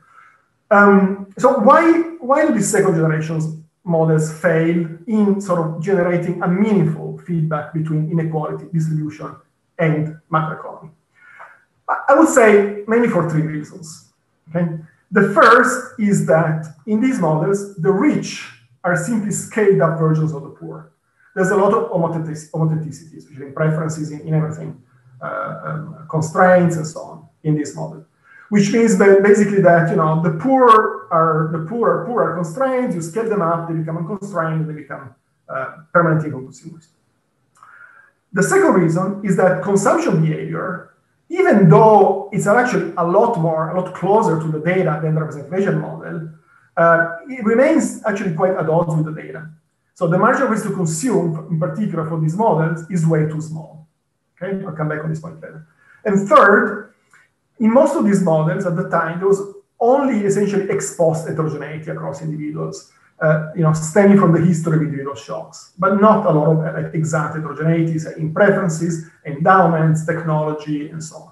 So why do these second generations models fail in sort of generating a meaningful feedback between inequality distribution and macroeconomy? I would say mainly for three reasons. Okay, the first is that in these models, the rich are simply scaled up versions of the poor. There's a lot of homotheticity, especially in preferences in everything, constraints and so on in this model. Which means that basically that the poor are constrained. You scale them up, they become unconstrained, and they become permanent income consumers. The second reason is that consumption behavior, even though it's actually a lot closer to the data than the representation model, it remains actually quite at odds with the data. So the margin of risk to consume, in particular for these models, is way too small. Okay, I'll come back on this point later. And third, in most of these models at the time, there was only essentially exposed heterogeneity across individuals, stemming from the history of individual shocks, but not a lot of exact heterogeneities in preferences, endowments, technology, and so on.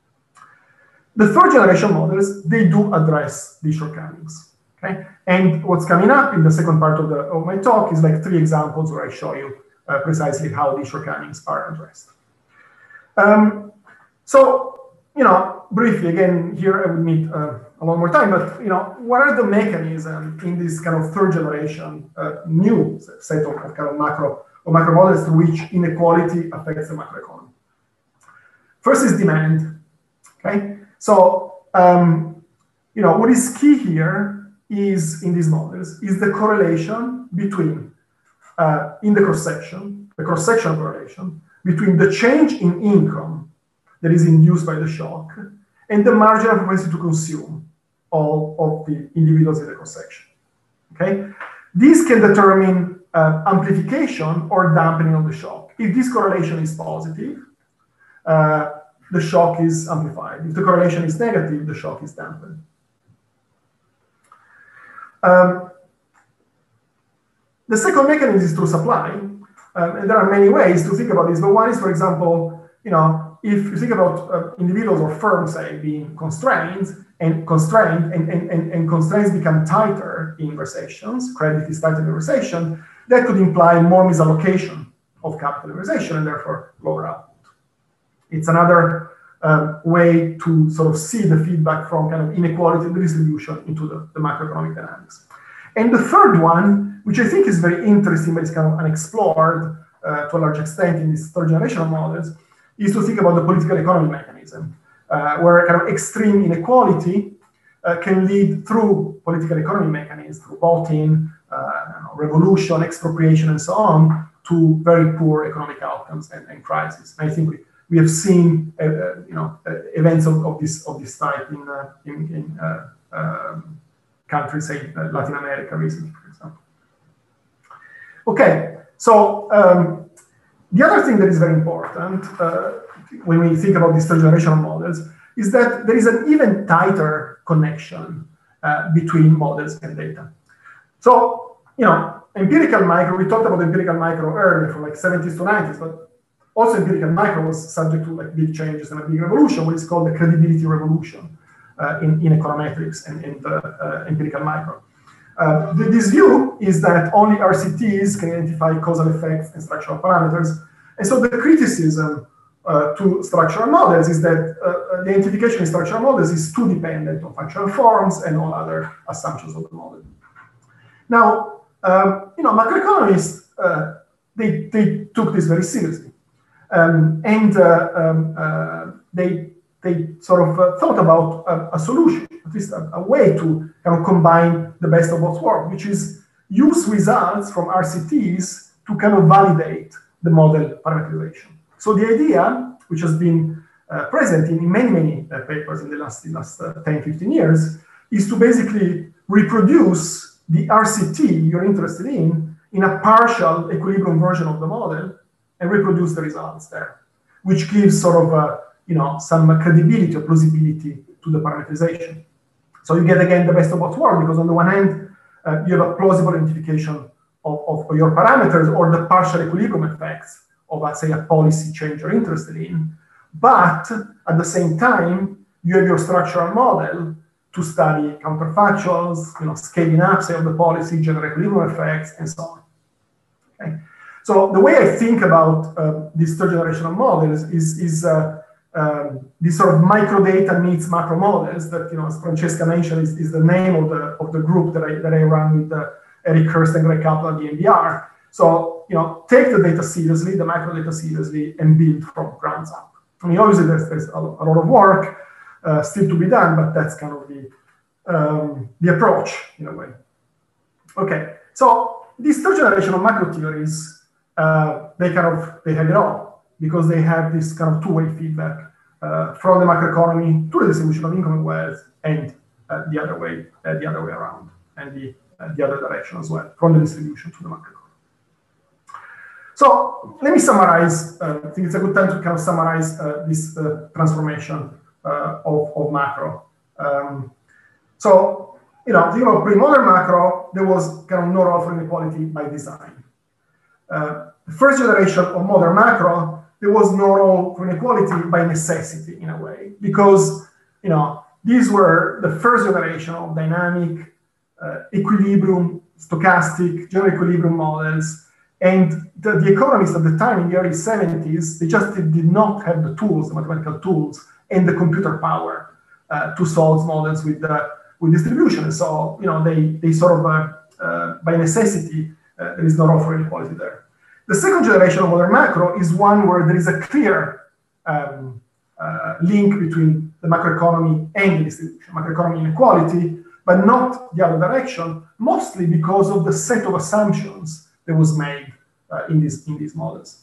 The third generation models, they do address these shortcomings. Okay, and what's coming up in the second part of my talk is like three examples where I show you precisely how these shortcomings are addressed. Briefly, again, here I would need a lot more time, but what are the mechanisms in this kind of third generation new set of kind of macro models through which inequality affects the macroeconomy? First is demand. Okay, so what is key here is in these models is the correlation between in the cross-section correlation between the change in income that is induced by the shock and the marginal propensity to consume all of the individuals in the cross-section. Okay, these can determine amplification or dampening of the shock. If this correlation is positive, the shock is amplified. If the correlation is negative, the shock is dampened. The second mechanism is through supply, and there are many ways to think about this. But one is, for example, if you think about individuals or firms, say, being constrained, and constraints become tighter in recessions, credit is tighter in recession, that could imply more misallocation of capital in recession and therefore lower output. It's another way to sort of see the feedback from kind of inequality in the distribution into the macroeconomic dynamics. And the third one, which I think is very interesting, but it's kind of unexplored to a large extent in these third generation models, is to think about the political economy mechanism, where kind of extreme inequality can lead through political economy mechanisms, through voting, revolution, expropriation, and so on, to very poor economic outcomes and crises. And I think we have seen events of this type in countries, say Latin America recently, for example. Okay, so the other thing that is very important when we think about these third generation models is that there is an even tighter connection between models and data. So, empirical micro, we talked about empirical micro earlier from like 70s to 90s, but also empirical micro was subject to like big changes and a big revolution, what is called the credibility revolution in econometrics and empirical micro. This view is that only RCTs can identify causal effects and structural parameters. And so the criticism to structural models is that the identification in structural models is too dependent on functional forms and all other assumptions of the model. Now, macroeconomists, they took this very seriously. They sort of thought about a solution, at least a way to kind of combine the best of both worlds, which is use results from RCTs to kind of validate the model parameterization. So the idea, which has been present in many papers in the last 10, 15 years, is to basically reproduce the RCT you're interested in a partial equilibrium version of the model and reproduce the results there, which gives sort of some credibility or plausibility to the parameterization. So you get, again, the best of both worlds, because on the one hand, you have a plausible identification of your parameters or the partial equilibrium effects of, let's say, a policy change you're interested in. But at the same time, you have your structural model to study counterfactuals, scaling up, say, of the policy, general equilibrium effects, and so on. Okay? So the way I think about these third generation of models is this sort of microdata meets macro models that, as Francesca mentioned, is the name of the group that I run with Eric Hurst and Greg Kaplan at the NBR. So, take the data seriously, the macro data seriously, and build from grounds up. I mean, obviously there's a lot of work still to be done, but that's kind of the approach in a way. Okay, so these third generation of macro theories, they have it all, because they have this kind of two-way feedback from the macroeconomy to the distribution of income and wealth, and the other way around, and the other direction as well, from the distribution to the macroeconomy. So let me summarize. I think it's a good time to kind of summarize this transformation of macro. So, think about pre-modern macro, there was kind of no role for inequality by design. The first generation of modern macro, there was no role for inequality by necessity, in a way, because these were the first generation of dynamic, equilibrium, stochastic, general equilibrium models, and the economists at the time, in the early 70s, they just did not have the tools, the mathematical tools, and the computer power to solve models with distribution. And so, they sort of, by necessity, there is no role for inequality there. The second generation of modern macro is one where there is a clear link between the macroeconomy and the distribution, macroeconomy inequality, but not the other direction, mostly because of the set of assumptions that was made in these models.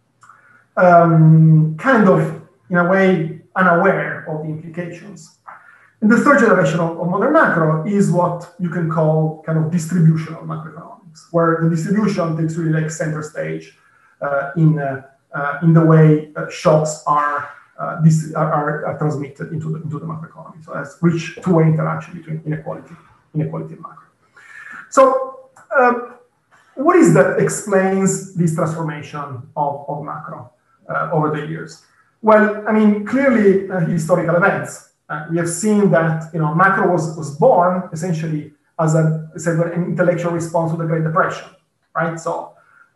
Kind of, in a way, unaware of the implications. And the third generation of modern macro is what you can call kind of distributional macroeconomics, where the distribution takes really like center stage in the way shocks are transmitted into the macroeconomy. So that's rich two-way interaction between inequality and macro. So what is that explains this transformation of macro over the years? Well, I mean, clearly historical events. We have seen that macro was born essentially as an intellectual response to the Great Depression, right? So,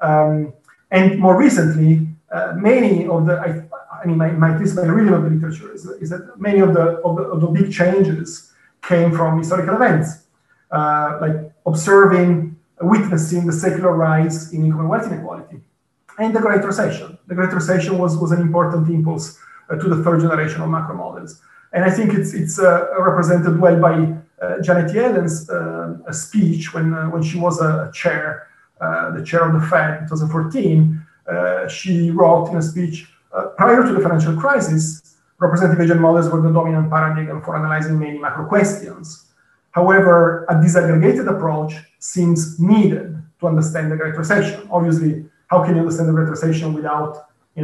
and more recently, many of the my reading of the literature is that many of the big changes came from historical events, like witnessing the secular rise in income and wealth inequality, and the Great Recession. The Great Recession was an important impulse to the third generation of macro models. And I think it's represented well by Janet Yellen's speech when she was the chair of the Fed in 2014. She wrote in a speech, prior to the financial crisis, representative agent models were the dominant paradigm for analyzing many macro questions. However, a disaggregated approach seems needed to understand the Great Recession. Obviously, how can you understand the Great Recession without,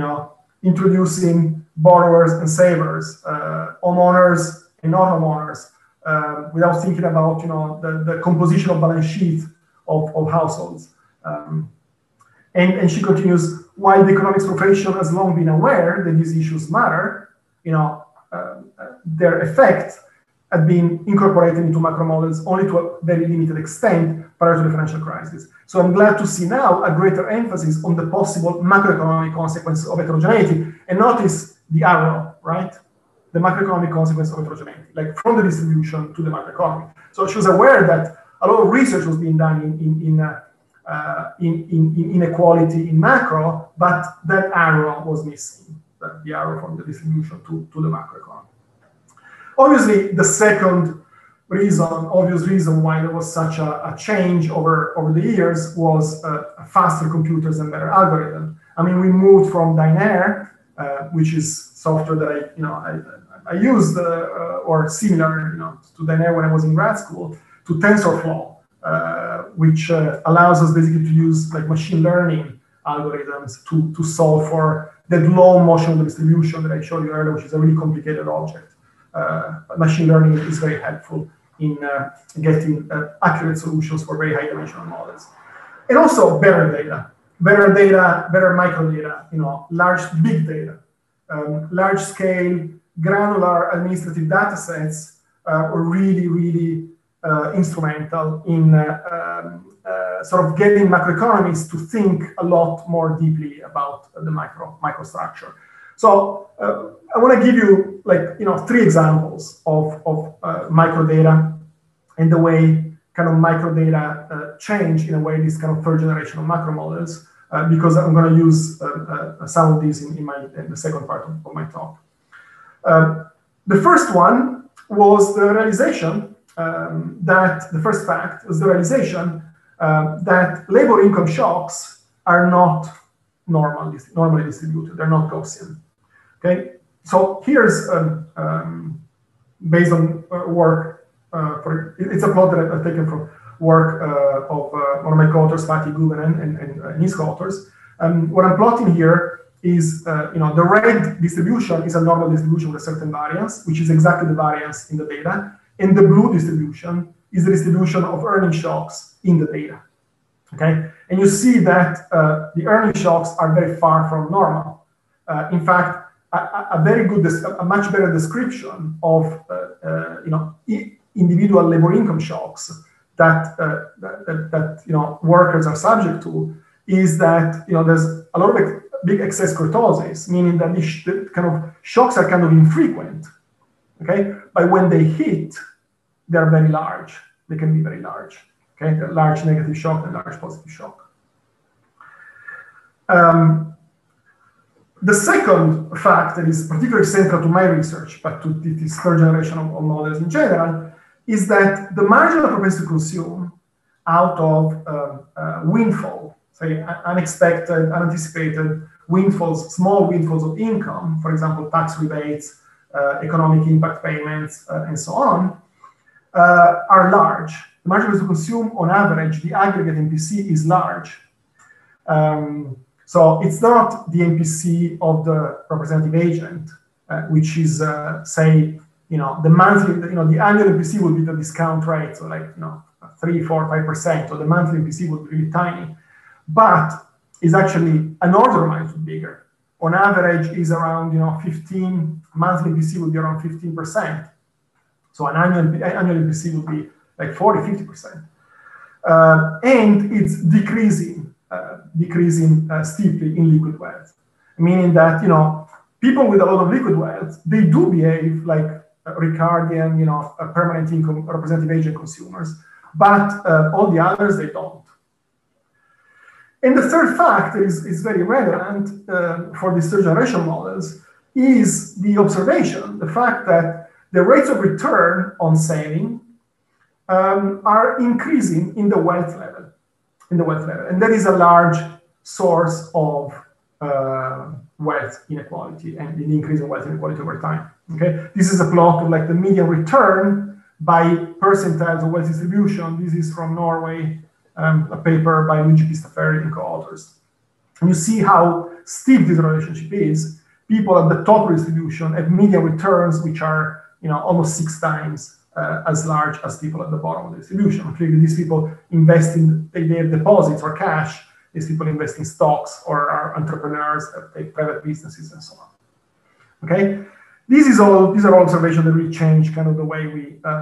introducing borrowers and savers, homeowners and non-homeowners, without thinking about, the composition of balance sheet of households. And she continues, while the economics profession has long been aware that these issues matter, their effect had been incorporated into macro models only to a very limited extent prior to the financial crisis. So I'm glad to see now a greater emphasis on the possible macroeconomic consequences of heterogeneity. And notice the arrow, right? The macroeconomic consequence of heterogeneity, like from the distribution to the macroeconomy. So she was aware that a lot of research was being done in inequality in macro, but that arrow was missing, the arrow from the distribution to the macroeconomy. Obviously, the second obvious reason why there was such a change over the years was faster computers and better algorithms. I mean, we moved from Dynair, which is software that I used or similar to Dynair when I was in grad school, to TensorFlow, which allows us basically to use like machine learning algorithms to solve for that low motion distribution that I showed you earlier, which is a really complicated object. Machine learning is very helpful in getting accurate solutions for very high dimensional models. And also better data, better microdata, big data, large scale, granular administrative data sets were really instrumental in sort of getting macroeconomists to think a lot more deeply about the microstructure. So I want to give you three examples of microdata and the way kind of microdata change in a way these kind of third generation of macro models, because I'm going to use some of these in the second part of my talk. The first one was the realization that the first fact was the realization that labor income shocks are not normally distributed. They're not Gaussian. Okay, so here's based on work. It's a plot that I've taken from work of one of my co-authors, Fatih Guvenen, and his co-authors. What I'm plotting here is, the red distribution is a normal distribution with a certain variance, which is exactly the variance in the data. And the blue distribution is the distribution of earning shocks in the data. Okay, and you see that the earning shocks are very far from normal. In fact, a much better description of individual labor income shocks that workers are subject to is that there's a lot of big excess kurtosis, meaning that the kind of shocks are kind of infrequent. Okay, but when they hit, they're very large. They can be very large. Okay, the large negative shock and large positive shock. The second fact that is particularly central to my research, but to this third generation of models in general, is that the marginal propensity to consume out of windfall, say unexpected, unanticipated windfalls, small windfalls of income, for example, tax rebates, economic impact payments, and so on, are large. The marginal propensity to consume, on average, the aggregate MPC is large. So it's not the MPC of the representative agent, which is, say, the monthly, the annual MPC would be the discount rate, so 3, 4, 5%, or the monthly MPC would be really tiny, but is actually an order of magnitude bigger. On average, is around 15. Monthly MPC would be around 15%. So an annual MPC would be like 40, 50%, and it's decreasing steeply in liquid wealth, meaning that people with a lot of liquid wealth, they do behave like Ricardian, permanent income representative agent consumers, but all the others, they don't. And the third fact is very relevant for these third generation models is the observation, the fact that the rates of return on saving are increasing in the wealth level. And that is a large source of wealth inequality and the increase in wealth inequality over time. Okay, this is a plot of the median return by percentiles of wealth distribution. This is from Norway, a paper by Luigi Pistaferri and co-authors. And you see how steep this relationship is. People at the top of the distribution have median returns which are almost 6 times as large as people at the bottom of the distribution. Clearly, these people invest in their deposits or cash. These people invest in stocks or are entrepreneurs that take private businesses and so on. Okay, these are all observations that really change kind of the way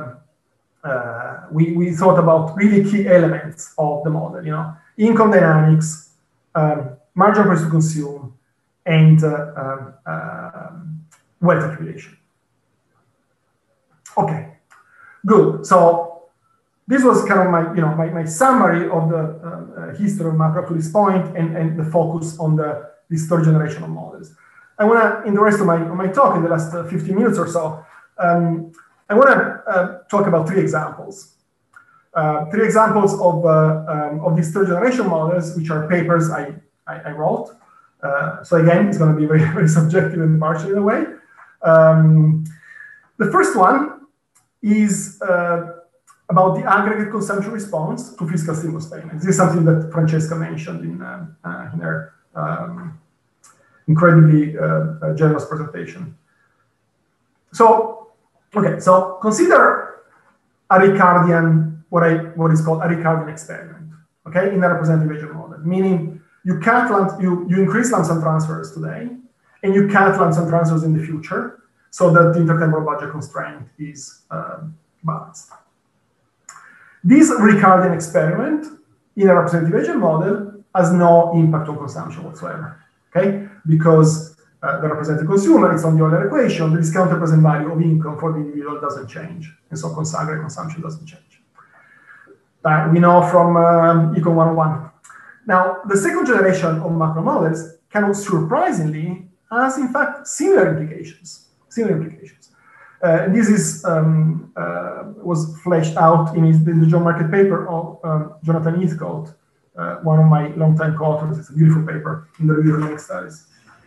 we thought about really key elements of the model. Income dynamics, marginal price to consume, and wealth accumulation. Okay. Good. So this was kind of my summary of the history of macro up to this point, and the focus on this third generation of models. I want to, in the rest of my talk, in the last 15 minutes or so, I want to talk about three examples. Three examples of these third generation models, which are papers I wrote. So again, it's going to be very, very subjective and partial in a way. The first one is about the aggregate consumption response to fiscal stimulus payments. This is something that Francesca mentioned in her incredibly generous presentation. So, okay, so consider a Ricardian, what is called a Ricardian experiment, okay, in a representative agent model, meaning you increase lump sum transfers today, and you cut lump sum transfers in the future, so that the intertemporal budget constraint is balanced. This Ricardian experiment in a representative agent model has no impact on consumption whatsoever, okay? Because the representative consumer is on the Euler equation, the discounted present value of income for the individual doesn't change, and so aggregate consumption doesn't change. We know from Econ 101. Now, the second generation of macro models, kind of surprisingly, has in fact similar implications. This is was fleshed out in the John Market paper of Jonathan Heathcote, one of my longtime co-authors. It's a beautiful paper in the Review of Economic Studies.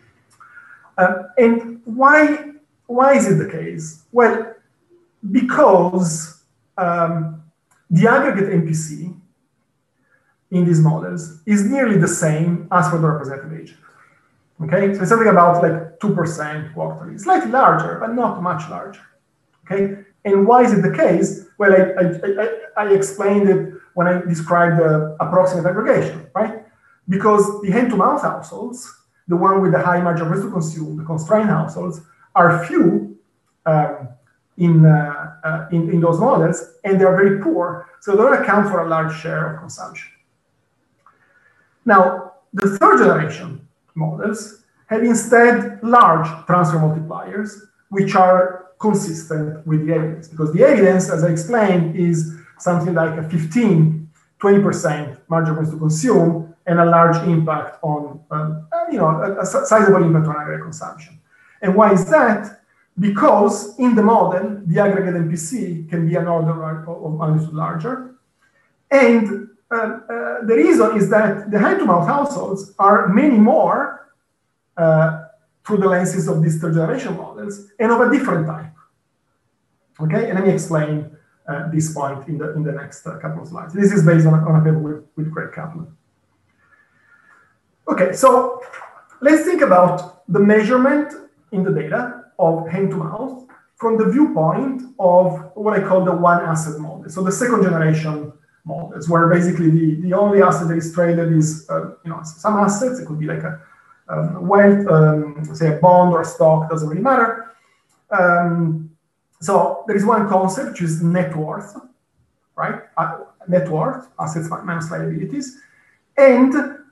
And why is it the case? Well, because the aggregate MPC in these models is nearly the same as for the representative agent. Okay, so it's something about like 2% quarterly, slightly larger, but not much larger. Okay, and why is it the case? Well, I explained it when I described the approximate aggregation, right? Because the hand-to-mouth households, the one with the high margin of risk to consume, the constrained households, are few in those models, and they are very poor, so they don't account for a large share of consumption. Now, the third generation models have instead large transfer multipliers, which are consistent with the evidence, because the evidence, as I explained, is something like a 15–20% margin of risk to consume and a large impact on, a sizable impact on aggregate consumption. And why is that? Because in the model, the aggregate MPC can be an order of magnitude larger. And the reason is that the hand-to-mouth households are many more through the lenses of these third generation models and of a different type. Okay, and let me explain this point in the next couple of slides. This is based on a paper with Craig Kaplan. Okay, so let's think about the measurement in the data of hand-to-mouth from the viewpoint of what I call the one asset model. So the second generation models, where basically the only asset that is traded is some assets. It could be like a wealth, say a bond or a stock, doesn't really matter. So there is one concept, which is net worth, right? Net worth, assets minus liabilities, and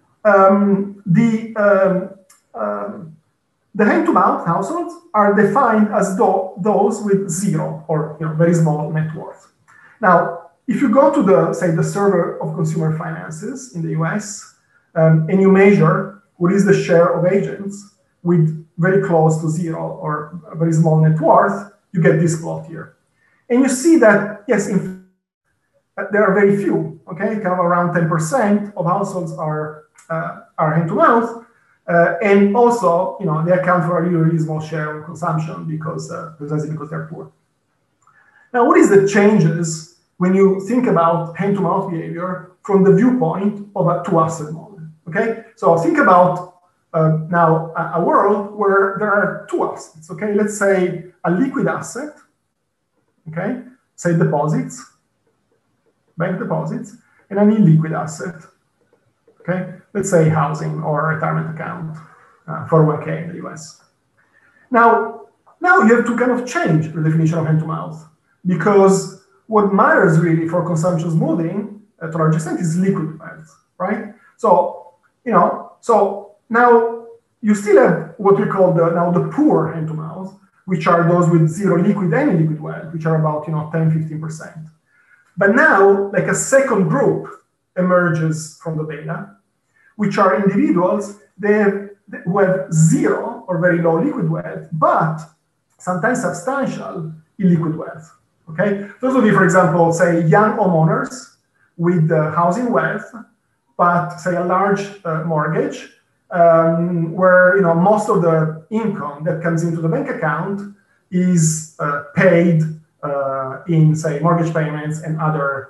the hand-to-mouth households are defined as those with zero or very small net worth. Now, if you go to the Survey of Consumer Finances in the US, and you measure what is the share of agents with very close to zero or a very small net worth, you get this plot here. And you see that, yes, there are very few, okay? Kind of around 10% of households are hand-to-mouth. And also, they account for a really, really small share of consumption precisely because they're poor. Now, what is the changes when you think about hand-to-mouth behavior from the viewpoint of a two-asset model? Okay, so think about now a world where there are two assets. Okay, let's say a liquid asset. Okay, say deposits, bank deposits, and an illiquid asset. Okay, let's say housing or retirement account, 401k in the US. Now you have to kind of change the definition of hand-to-mouth, because what matters really for consumption smoothing to a large extent is liquid wealth, right? So, so now you still have what we call the poor hand-to-mouth, which are those with zero liquid and illiquid wealth, which are about 10–15%. But now, like a second group emerges from the data, which are individuals who have zero or very low liquid wealth, but sometimes substantial illiquid wealth. Okay, those would be, for example, say young homeowners with housing wealth, but say a large mortgage, where most of the income that comes into the bank account is paid in, say, mortgage payments and other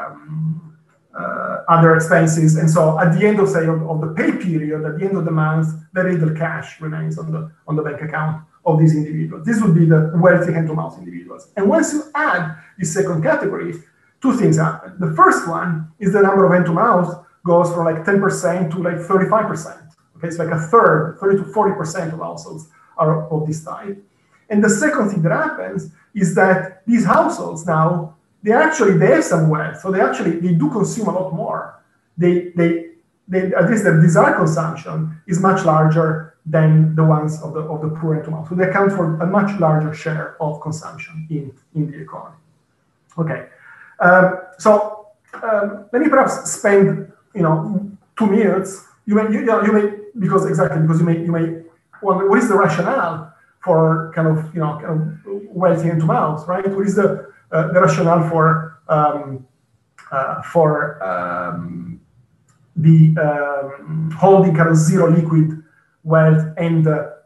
expenses. And so at the end of, say, of the pay period, at the end of the month, very little cash remains on the bank account of these individuals. This would be the wealthy hand-to-mouth individuals. And once you add this second category, two things happen. The first one is the number of hand-to-mouth goes from like 10% to like 35%. Okay, it's like a third, 30 to 40% of households are of this type. And the second thing that happens is that these households now, they have some wealth, so they do consume a lot more. They at least their desired consumption is much larger than the ones of the poor hand-to-mouth. So they account for a much larger share of consumption in the economy. Okay, so let me perhaps spend 2 minutes. You may because you may wonder what is the rationale for kind of wealthy hand-to-mouth, right? What is the rationale for holding kind of zero liquid wealth and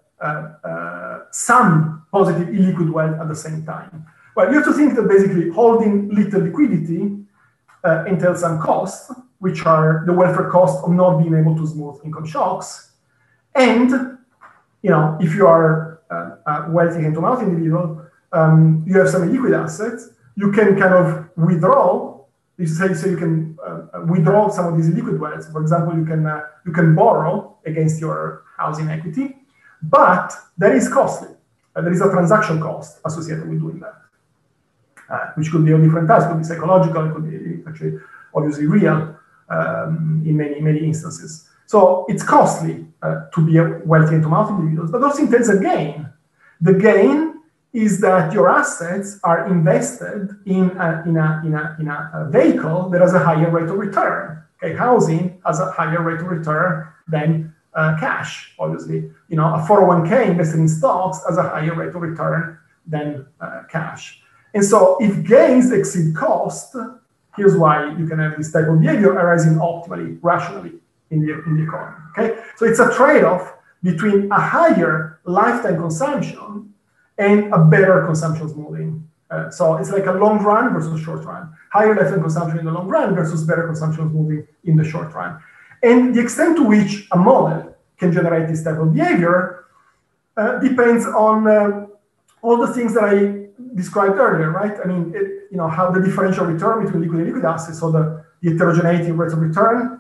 some positive illiquid wealth at the same time? Well, you have to think that basically holding little liquidity entails some costs, which are the welfare costs of not being able to smooth income shocks. And if you are a wealthy hand-to-mouth individual, you have some illiquid assets. You can kind of withdraw. You can withdraw some of these illiquid wealth. For example, you can borrow against your housing equity, but that is costly. There is a transaction cost associated with doing that, which could be of different types. It could be psychological. It could be actually obviously real in many instances. So it's costly to be a wealthy hand-to-mouth individual, but also entails a gain. The gain is that your assets are invested in a vehicle that has a higher rate of return. Okay, housing has a higher rate of return than cash, obviously. A 401k invested in stocks has a higher rate of return than cash. And so if gains exceed cost, here's why you can have this type of behavior arising optimally, rationally in the economy. Okay, so it's a trade-off between a higher lifetime consumption and a better consumption smoothing. So it's like a long run versus short run. Higher lifetime consumption in the long run versus better consumption smoothing in the short run. And the extent to which a model can generate this type of behavior depends on all the things that I described earlier, right? I mean, how the differential return between liquid and liquid assets, so the heterogeneity of rates of return,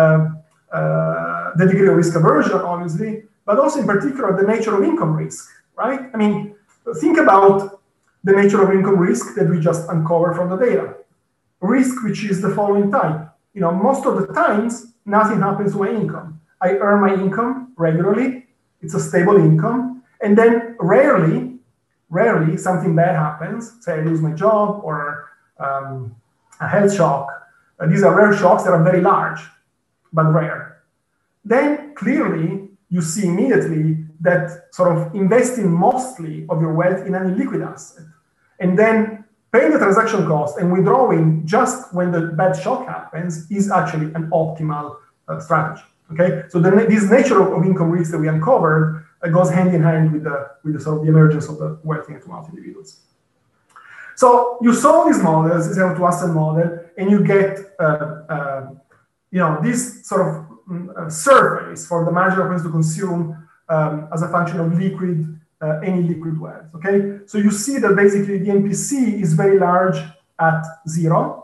the degree of risk aversion, obviously, but also in particular the nature of income risk, right? I mean, think about the nature of income risk that we just uncovered from the data. Risk, which is the following type. Most of the times, nothing happens to my income. I earn my income regularly. It's a stable income. And then rarely something bad happens. Say I lose my job or a health shock. These are rare shocks that are very large, but rare. Then clearly, you see immediately that sort of investing mostly of your wealth in an illiquid asset and then paying the transaction cost and withdrawing just when the bad shock happens is actually an optimal strategy. Okay, so this nature of income risk that we uncovered goes hand in hand with the sort of the emergence of the wealthy hand-to-mouth individuals. So you solve these models, this hand-to-asset model, and you get this sort of surface for the marginal price to consume as a function of liquid any liquid wealth. Okay, so you see that basically the MPC is very large at zero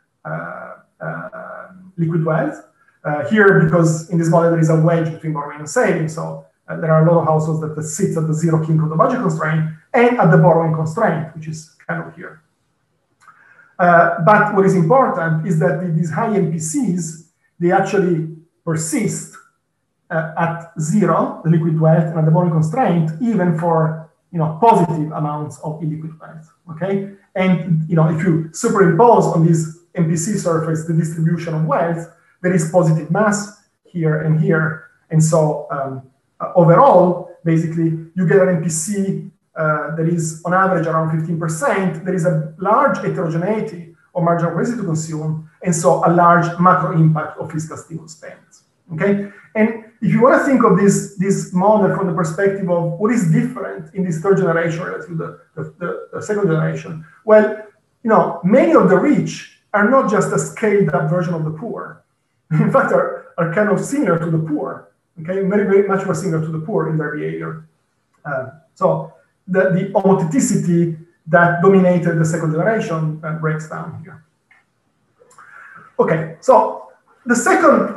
liquid wealth. Here, because in this model there is a wedge between borrowing and saving, so there are a lot of households that sit at the zero kink of the budget constraint and at the borrowing constraint, which is kind of here. But what is important is that these high MPCs, they actually persist at zero, the liquid wealth, and at the borrowing constraint, even for positive amounts of illiquid wealth. Okay, And if you superimpose on this MPC surface the distribution of wealth, there is positive mass here and here. And so overall, basically, you get an MPC that is on average around 15%. There is a large heterogeneity of marginal capacity to consume, and so a large macro impact of fiscal stimulus payments. Okay, and if you want to think of this model from the perspective of what is different in this third generation relative to the second generation, well, many of the rich are not just a scaled up version of the poor. In fact, are kind of similar to the poor. Okay, very, very much more similar to the poor in their behavior. So the homotheticity that dominated the second generation breaks down here. Okay, so the second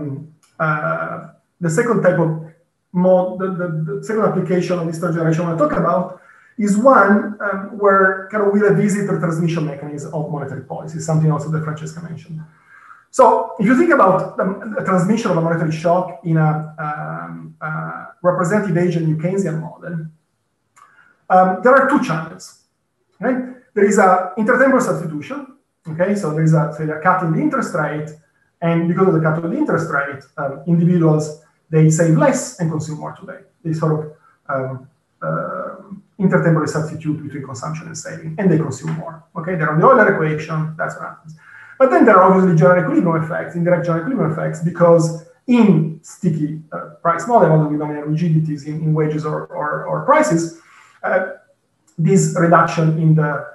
type of the second application of this third generation I want to talk about is one where kind of we revisit the transmission mechanism of monetary policy, something also that Francesca mentioned. So if you think about the transmission of a monetary shock in a representative agent New Keynesian model, there are two channels. Right? There is an intertemporal substitution. Okay, so there is a cut in the interest rate, and because of the cut of the interest rate, individuals they save less and consume more today. They sort of intertemporally substitute between consumption and saving, and they consume more. Okay, they're on the Euler equation. That's what happens. But then there are obviously general equilibrium effects, indirect general equilibrium effects, because in sticky price model with nominal rigidities in wages or prices, this reduction in the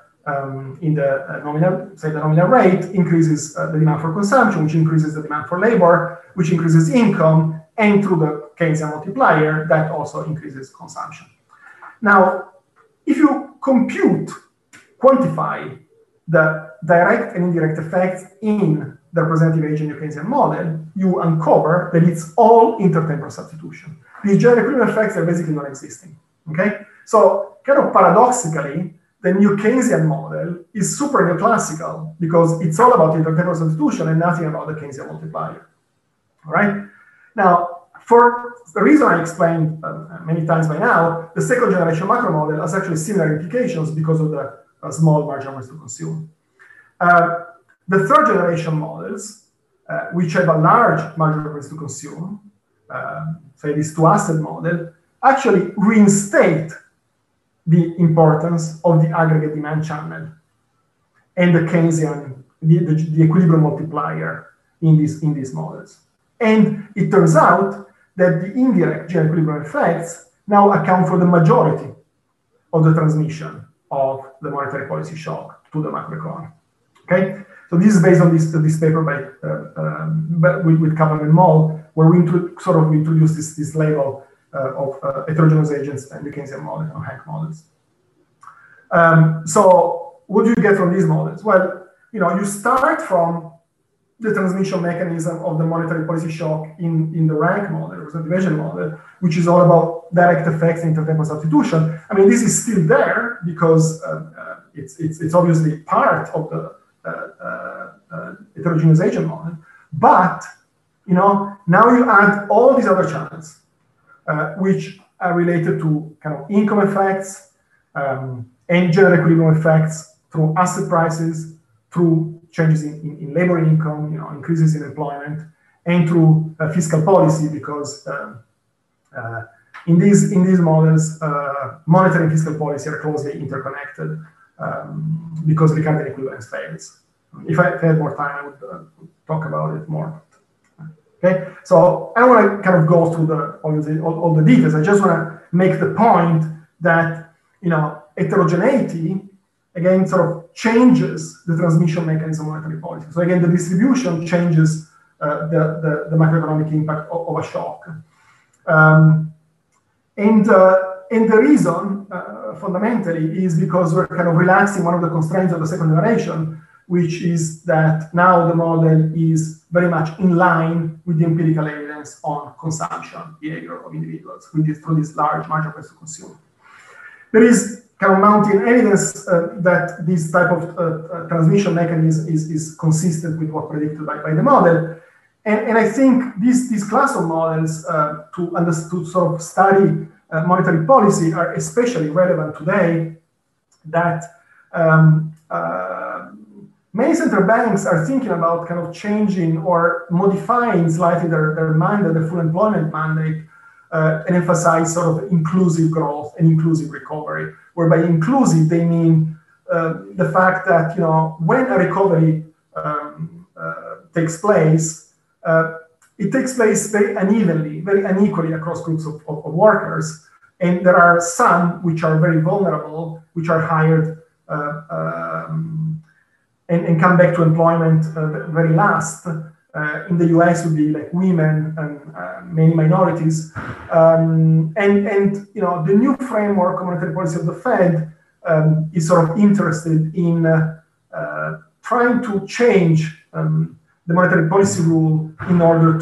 nominal rate increases the demand for consumption, which increases the demand for labor, which increases income, and through the Keynesian multiplier, that also increases consumption. Now, if you quantify the direct and indirect effects in the representative agent New Keynesian model, you uncover that it's all intertemporal substitution. These general equilibrium effects are basically non-existing. Okay, so kind of paradoxically, the New Keynesian model is super neoclassical because it's all about intertemporal substitution and nothing about the Keynesian multiplier. All right. Now, for the reason I explained many times by now, the second generation macro model has actually similar implications because of the small marginal ways to consume. The third generation models, which have a large marginal ways to consume, say this two-asset model, actually reinstate the importance of the aggregate demand channel and the Keynesian, the equilibrium multiplier in these models. And it turns out that the indirect general equilibrium effects now account for the majority of the transmission of the monetary policy shock to the macroeconomy. Okay, so this is based on this paper with Kaplan and Moll, where we introduce this label of heterogeneous agents and the Keynesian model or Hank models. So what do you get from these models? Well, you start from the transmission mechanism of the monetary policy shock in the rank model, representative agent model, which is all about direct effects and intertemporal substitution. I mean, this is still there because it's obviously part of the heterogeneous agent model. But now you add all these other channels, which are related to kind of income effects and general equilibrium effects through asset prices, through changes in labor income, increases in employment, and through fiscal policy, because in these models, monetary and fiscal policy are closely interconnected because Ricardian equivalence fails. If I had more time, I would talk about it more. Okay, so I don't want to kind of go through all the details. I just want to make the point that heterogeneity again sort of changes the transmission mechanism of monetary policy. So again, the distribution changes the macroeconomic impact of a shock, and the reason fundamentally is because we're kind of relaxing one of the constraints of the second generation, which is that now the model is very much in line with the empirical evidence on consumption behavior of individuals through this large marginal price to consume. There is kind of mounting evidence that this type of transmission mechanism is consistent with what predicted by the model. And I think this class of models to sort of study monetary policy are especially relevant today, that many central banks are thinking about kind of changing or modifying slightly their mandate, the full employment mandate, and emphasize sort of inclusive growth and inclusive recovery, where by inclusive they mean the fact that, you know, when a recovery takes place, it takes place very unevenly, very unequally across groups of workers. And there are some which are very vulnerable, which are hired and come back to employment very last. In the US would be like women and many minorities. And you know, the new framework of monetary policy of the Fed is sort of interested in trying to change the monetary policy rule in order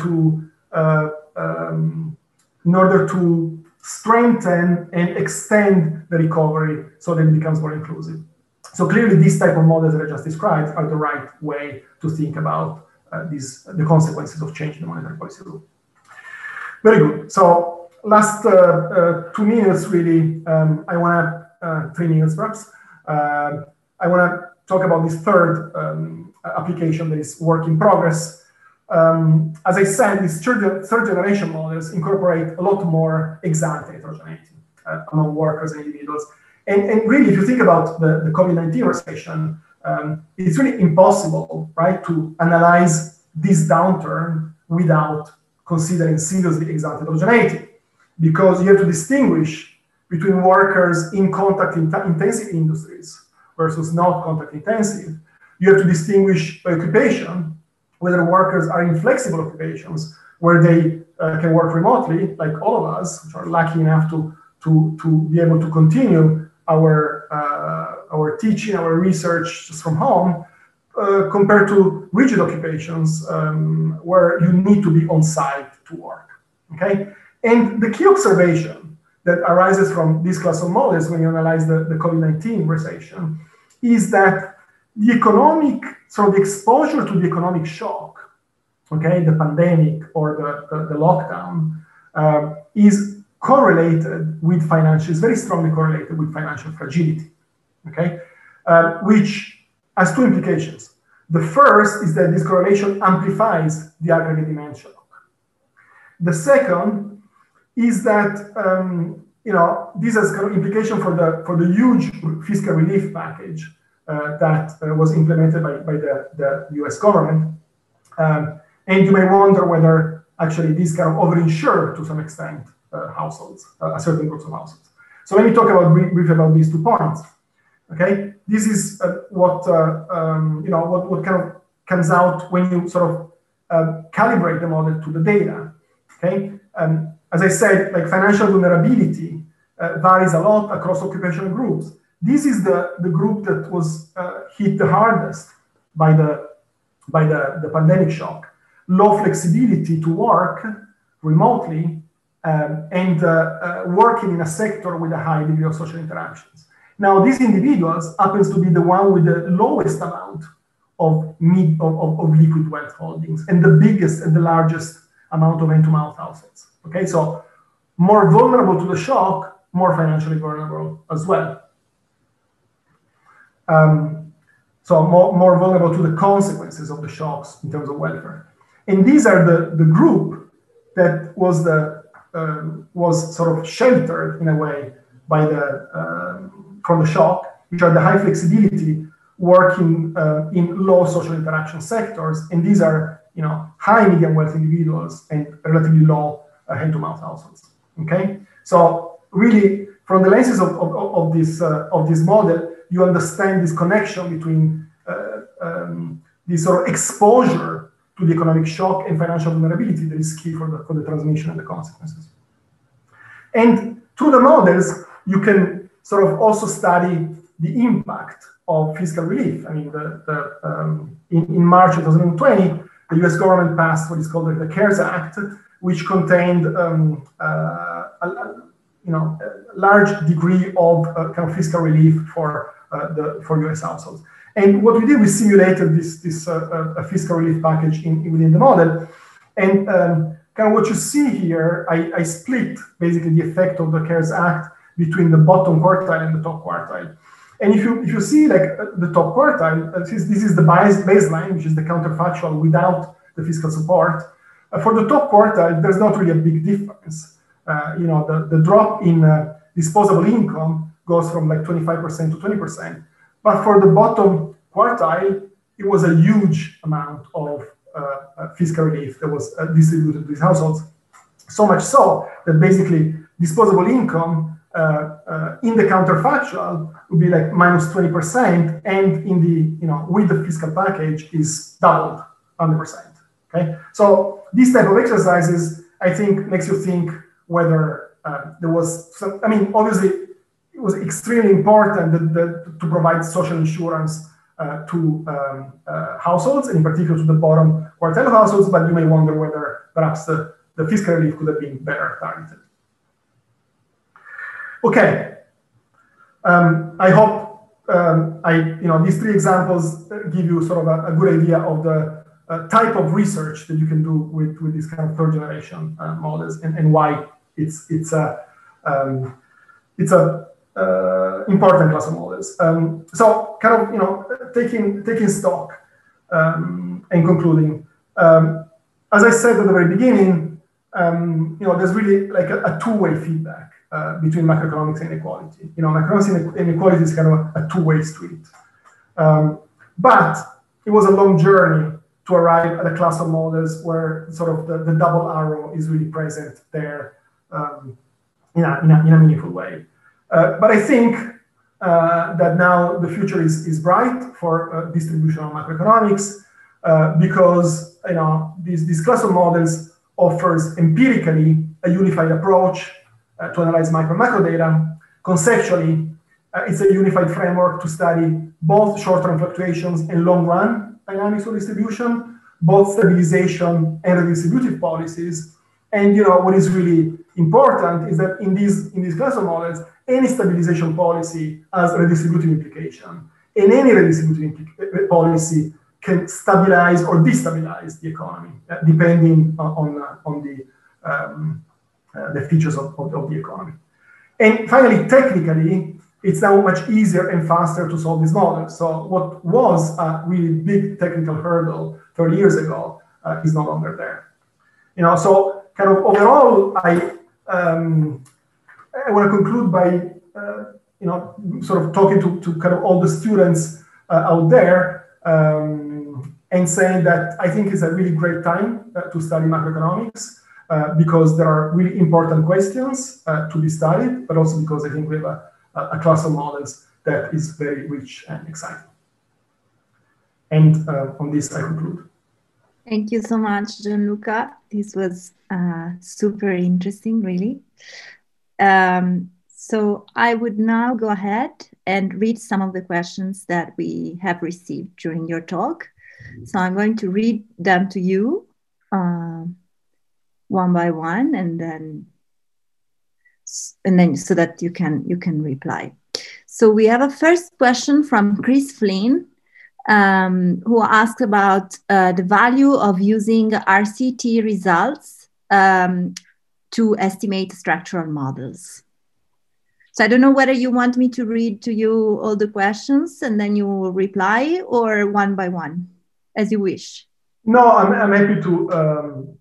to strengthen and extend the recovery so that it becomes more inclusive. So clearly, these type of models that I just described are the right way to think about the consequences of changing the monetary policy rule. Very good. So last 2 minutes, really, I want to 3 minutes perhaps. I want to talk about this third application that is work in progress. As I said, these third generation models incorporate a lot more ex-ante heterogeneity among workers and individuals. And really, if you think about the COVID-19 recession, it's really impossible, right, to analyze this downturn without considering seriously ex-ante heterogeneity, because you have to distinguish between workers in contact-intensive industries versus not contact-intensive. You have to distinguish by occupation, whether workers are in flexible occupations where they can work remotely, like all of us, which are lucky enough to be able to continue our teaching, our research just from home, compared to rigid occupations where you need to be on site to work, okay? And the key observation that arises from this class of models when you analyze the COVID-19 recession is that the economic, so the exposure to the economic shock, okay, the pandemic or the lockdown is correlated with financial, is very strongly correlated with financial fragility, okay, which has two implications. The first is that this correlation amplifies the aggregate demand shock. The second is that you know, this has kind of implication for the huge fiscal relief package that was implemented by the US government. And you may wonder whether actually this kind of overinsured to some extent households, certain groups of households. So let me talk about briefly about these 2 points. Okay, this is what you know, what kind of comes out when you sort of calibrate the model to the data. Okay, as I said, like financial vulnerability varies a lot across occupational groups. This is the group that was hit the hardest by the pandemic shock. Low flexibility to work remotely and working in a sector with a high degree of social interactions. Now, these individuals happens to be the one with the lowest amount of liquid wealth holdings and the biggest and the largest amount of hand-to-mouth assets. Okay, so more vulnerable to the shock, more financially vulnerable as well. So more vulnerable to the consequences of the shocks in terms of welfare. And these are the group that was was sort of sheltered in a way by from the shock, which are the high flexibility working in low social interaction sectors. And these are, you know, high medium wealth individuals and relatively low hand-to-mouth households. Okay, so really from the lenses of this model, you understand this connection between this sort of exposure to the economic shock and financial vulnerability that is key for the transmission and the consequences. And through the models, you can sort of also study the impact of fiscal relief. I mean, in March 2020, the US government passed what is called the CARES Act, which contained a large degree of kind of fiscal relief for US households. And what we did, we simulated this fiscal relief package within the model. And kind of what you see here, I split basically the effect of the CARES Act between the bottom quartile and the top quartile. And if you see like the top quartile, this is the baseline, which is the counterfactual without the fiscal support. For the top quartile, there's not really a big difference. The drop in disposable income goes from like 25% to 20%. But for the bottom quartile, it was a huge amount of fiscal relief that was distributed to these households. So much so that basically disposable income in the counterfactual would be like minus 20%, and in the with the fiscal package is doubled 100%. Okay, so these type of exercises I think makes you think whether there was some. I mean, obviously it was extremely important to provide social insurance to households, and in particular to the bottom quartile of households. But you may wonder whether perhaps the fiscal relief could have been better targeted. Okay, I hope these three examples give you sort of a good idea of the type of research that you can do with these kind of third generation models, and why it's a important class of models. So kind of taking stock and concluding. As I said at the very beginning, there's really like a two-way feedback between macroeconomics and inequality. Macroeconomics and inequality is kind of a two-way street. But it was a long journey to arrive at a class of models where sort of the double arrow is really present there in a meaningful way. But I think that now the future is bright for distributional macroeconomics because this class of models offers empirically a unified approach to analyze micro and macro data. Conceptually, it's a unified framework to study both short-term fluctuations and long-run dynamics of distribution, both stabilization and redistributive policies. And what is really important is that in these class of models, any stabilization policy has a redistributive implication, and any redistributive policy can stabilize or destabilize the economy, depending on the features of the economy. And finally, technically, it's now much easier and faster to solve these models. So what was a really big technical hurdle 30 years ago is no longer there. So kind of overall, I want to conclude by sort of talking to kind of all the students out there and saying that I think it's a really great time to study macroeconomics because there are really important questions to be studied, but also because I think we have a class of models that is very rich and exciting. And on this, I conclude. Thank you so much, Gianluca. This was super interesting, really. So I would now go ahead and read some of the questions that we have received during your talk. So I'm going to read them to you one by one, and then so that you can reply. So we have a first question from Chris Flynn, who asked about the value of using RCT results to estimate structural models. So I don't know whether you want me to read to you all the questions and then you will reply, or one by one, as you wish. No, I'm happy to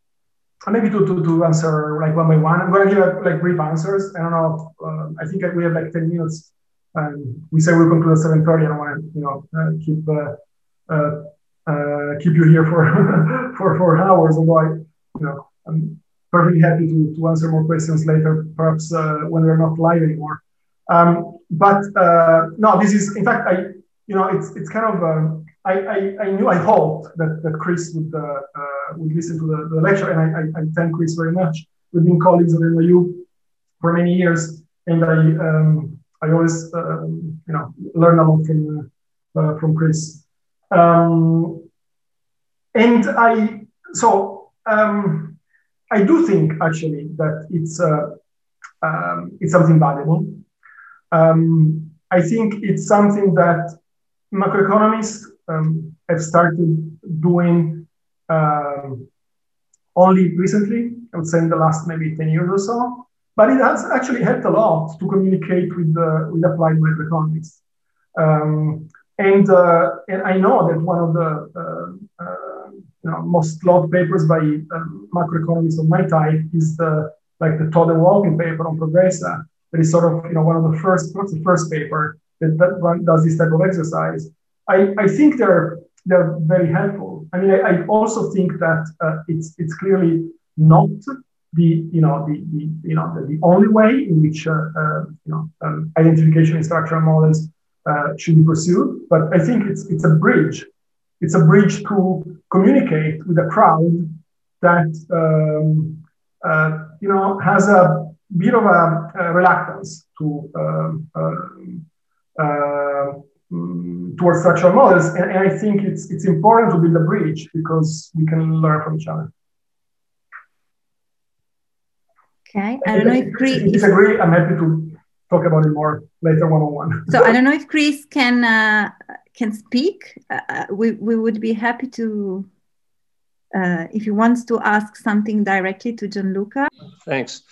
answer like one by one. I'm going to give like brief answers. I don't know. I think we have like 10 minutes. We say we'll conclude at 7:30. I don't want to keep you here for hours. Although I'm perfectly happy to answer more questions later, perhaps when we're not live anymore. But no, this is in fact it's kind of I hoped that Chris would listen to the lecture, and I thank Chris very much. We've been colleagues at NYU for many years, and I always learn a lot from Chris. And I do think actually that it's something valuable. I think it's something that macroeconomists have started doing only recently, I would say in the last maybe 10 years or so, but it has actually helped a lot to communicate with applied macroeconomics. And I know that one of the most loved papers by macroeconomists of my type is the Todd and Walton paper on Progressa. That is sort of one of the first, not the first paper that does this type of exercise. I think they're very helpful. I mean, I also think that it's clearly not the only way in which identification in structural models should be pursued, but I think it's a bridge. It's a bridge to communicate with a crowd that has a bit of a reluctance towards structural models, and I think it's important to build a bridge because we can learn from each other. Okay, I don't know if Chris. If you disagree, I'm happy to talk about it more later one-on-one. So I don't know if Chris can speak. We would be happy to, if he wants to ask something directly to Gianluca. Thanks.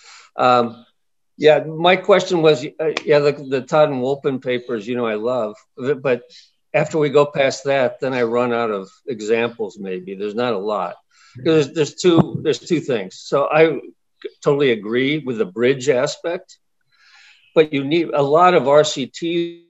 Yeah, my question was, the Todd and Wolpen papers, I love, but after we go past that, then I run out of examples. Maybe there's not a lot. There's two things. So I totally agree with the bridge aspect, but you need a lot of RCTs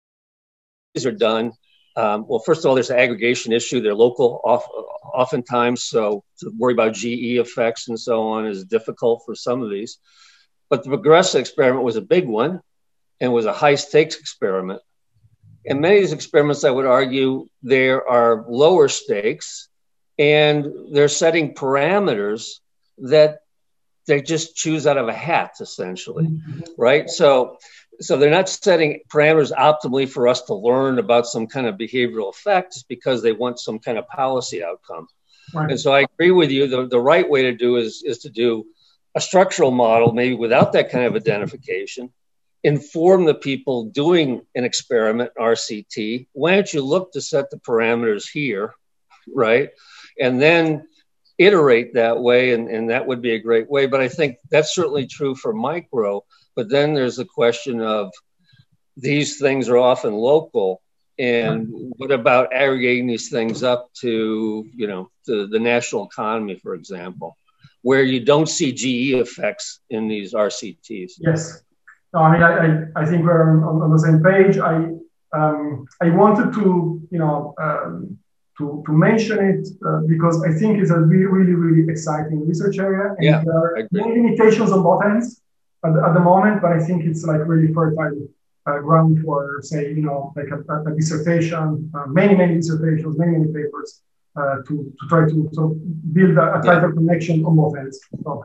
are done. Well, first of all, there's an aggregation issue. They're local oftentimes, so to worry about GE effects and so on is difficult for some of these. But the Progressa experiment was a big one and was a high stakes experiment. And many of these experiments, I would argue, there are lower stakes and they're setting parameters that they just choose out of a hat, essentially, right? So they're not setting parameters optimally for us to learn about some kind of behavioral effects because they want some kind of policy outcome. Right. And so I agree with you. The right way to do is to do a structural model, maybe without that kind of identification, inform the people doing an experiment, RCT. Why don't you look to set the parameters here, right? And then iterate that way, and that would be a great way. But I think that's certainly true for micro. But then there's the question of these things are often local. And what about aggregating these things up to, the national economy, for example, where you don't see GE effects in these RCTs? Yes. No, I mean, I think we're on the same page. I wanted to, to mention it because I think it's a really, really exciting research area. And there are many limitations on both ends at the moment, but I think it's like really fertile ground for, say, like a dissertation, many dissertations, many papers to try to sort of build a tighter connection on both ends. So.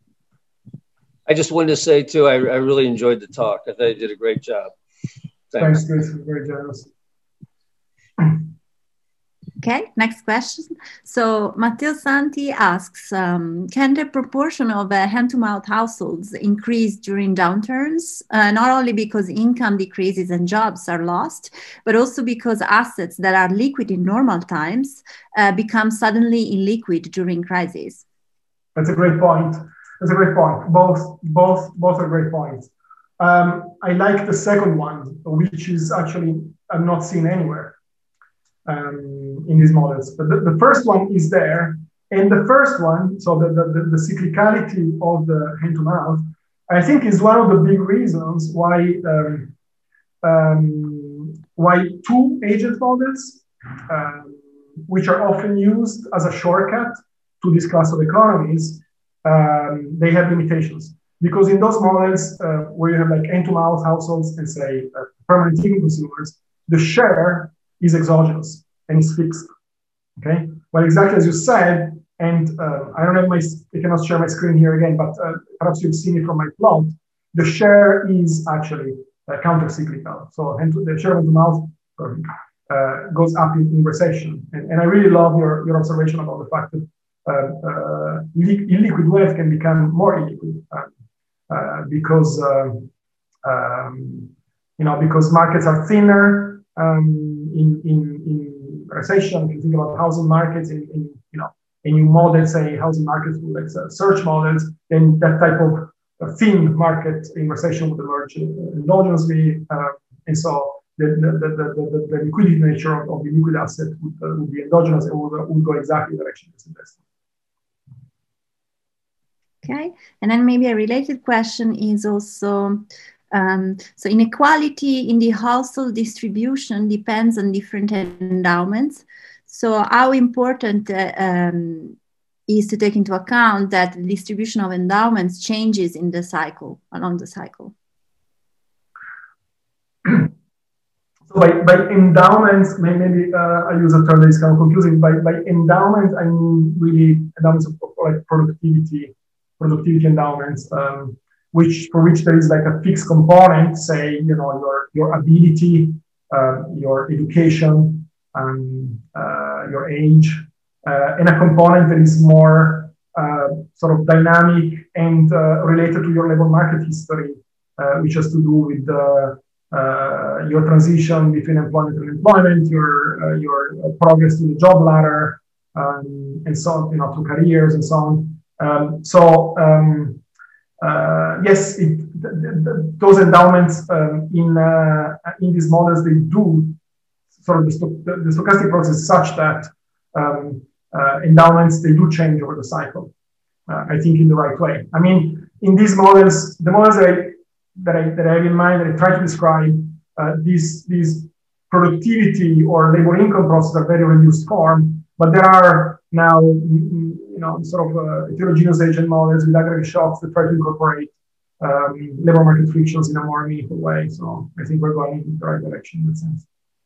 I just wanted to say too, I really enjoyed the talk. I thought you did a great job. Thanks, Chris. Very generous. Okay, next question. So Matteo Santi asks, can the proportion of hand-to-mouth households increase during downturns, not only because income decreases and jobs are lost, but also because assets that are liquid in normal times become suddenly illiquid during crises? That's a great point. That's a great point. Both are great points. I like the second one, which is actually I'm not seen anywhere. In these models, but the first one is there, and the first one, so the cyclicality of the hand-to-mouth, I think is one of the big reasons why two agent models, which are often used as a shortcut to this class of economies, they have limitations. Because in those models where you have like hand-to-mouth households and say permanent income consumers, the share is exogenous and is fixed, okay? Well, exactly as you said, and I don't have I cannot share my screen here again, but perhaps you've seen it from my plot, the share is actually counter-cyclical. So the share of the mouth goes up in recession. And I really love your observation about the fact that illiquid wealth can become more illiquid because markets are thinner, in recession. If you think about housing markets, and you model, say, housing markets with like search models, then that type of thin market in recession would emerge endogenously, and so the liquidity nature of the liquid asset would be endogenous and would go exactly the direction it's invested. Okay, and then maybe a related question is also, so inequality in the household distribution depends on different endowments. So how important is to take into account that the distribution of endowments changes in the cycle, along the cycle? So by endowments, maybe I use a term that is kind of confusing. By endowment, I mean really endowments of like productivity endowments, for which there is like a fixed component, say, you know, your ability, your education, your age, and a component that is more sort of dynamic and related to your labor market history, which has to do with your transition between employment and employment, your progress to the job ladder, and so on, you know, through careers and so on. Yes, those endowments in these models, they do sort of the stochastic process is such that endowments, they do change over the cycle. I think in the right way. I mean, in these models, the models that I have in mind, that I try to describe, these productivity or labor income processes are very reduced form, but there are now, you know, sort of heterogeneous agent models with aggregate shocks that try to incorporate labor market frictions in a more meaningful way. So I think we're going in the right direction in that sense.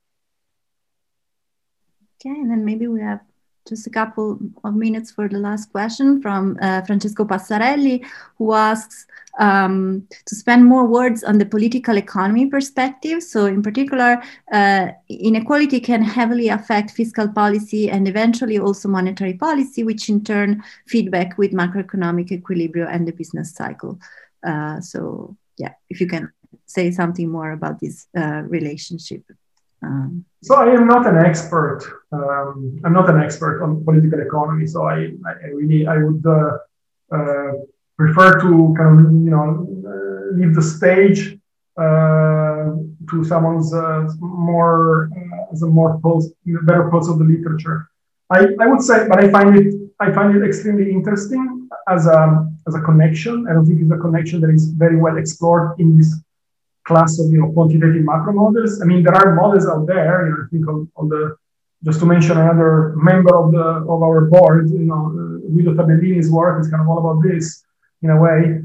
Okay, and then maybe we have just a couple of minutes for the last question from Francesco Passarelli, who asks to spend more words on the political economy perspective. So in particular, inequality can heavily affect fiscal policy and eventually also monetary policy, which in turn feedback with macroeconomic equilibrium and the business cycle. So yeah, if you can say something more about this relationship. So I am not an expert. I'm not an expert on political economy. So I would prefer to kind of, you know, leave the stage to someone's more as a more better pulse of the literature. I would say, but I find it extremely interesting as a connection. I don't think it's a connection that is very well explored in this class of, you know, quantitative macro models. I mean, there are models out there. You know, I think on the, just to mention another member of our board, you know, Guido Tabellini's work is kind of all about this in a way.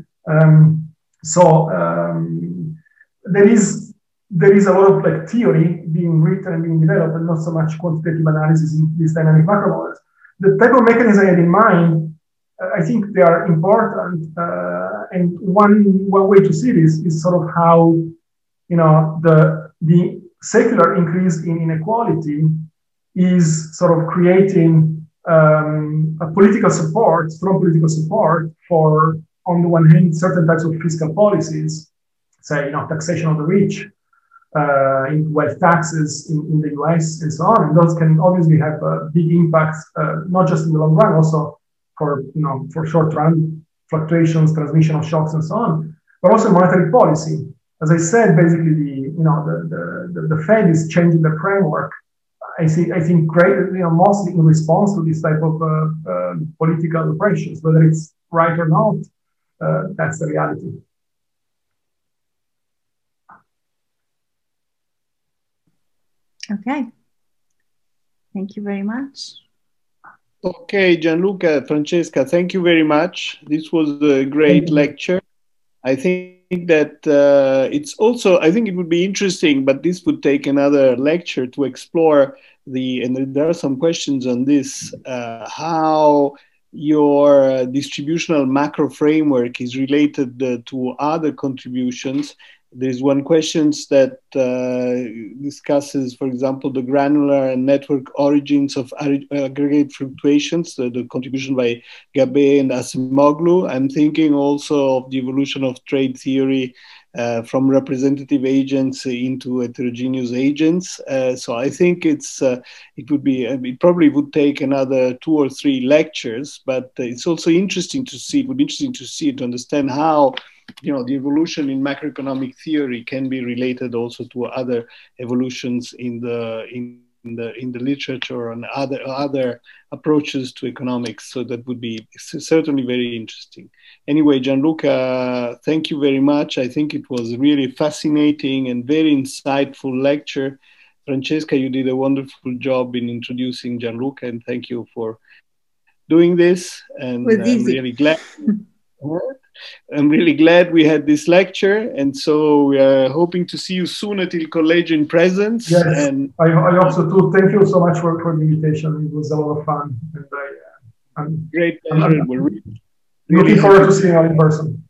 There is a lot of like theory being written and being developed, and not so much quantitative analysis in these dynamic macro models. The type of mechanism I had in mind, I think they are important, and one way to see this is sort of how, you know, the secular increase in inequality is sort of creating a political support, strong political support for, on the one hand, certain types of fiscal policies, say, you know, taxation of the rich, wealth taxes in the US and so on, and those can obviously have big impacts, not just in the long run, also for, you know, for short run fluctuations, transmission of shocks and so on, but also monetary policy. As I said, basically the Fed is changing the framework. I think great, you know, mostly in response to this type of political pressures, whether it's right or not, that's the reality. Okay. Thank you very much. Okay, Gianluca, Francesca, thank you very much. This was a great lecture. I think that it's also, I think it would be interesting, but this would take another lecture to explore and there are some questions on this, how your distributional macro framework is related to other contributions. There's one question that discusses, for example, the granular and network origins of aggregate fluctuations, the contribution by Gabay and Acemoglu. I'm thinking also of the evolution of trade theory from representative agents into heterogeneous agents. So I think it probably would take another 2 or 3 lectures, but it's also interesting to see, it would be interesting to see, to understand how the evolution in macroeconomic theory can be related also to other evolutions in the literature and other approaches to economics. So that would be certainly very interesting. Anyway, Gianluca, thank you very much. I think it was really fascinating and very insightful lecture. Francesca, you did a wonderful job in introducing Gianluca, and thank you for doing this. And I'm really glad. I'm really glad we had this lecture, and so we are hoping to see you soon at Il Collegio in presence. Yes, and I also too. Thank you so much for the invitation. It was a lot of fun, and great pleasure. We're looking forward to seeing you in person.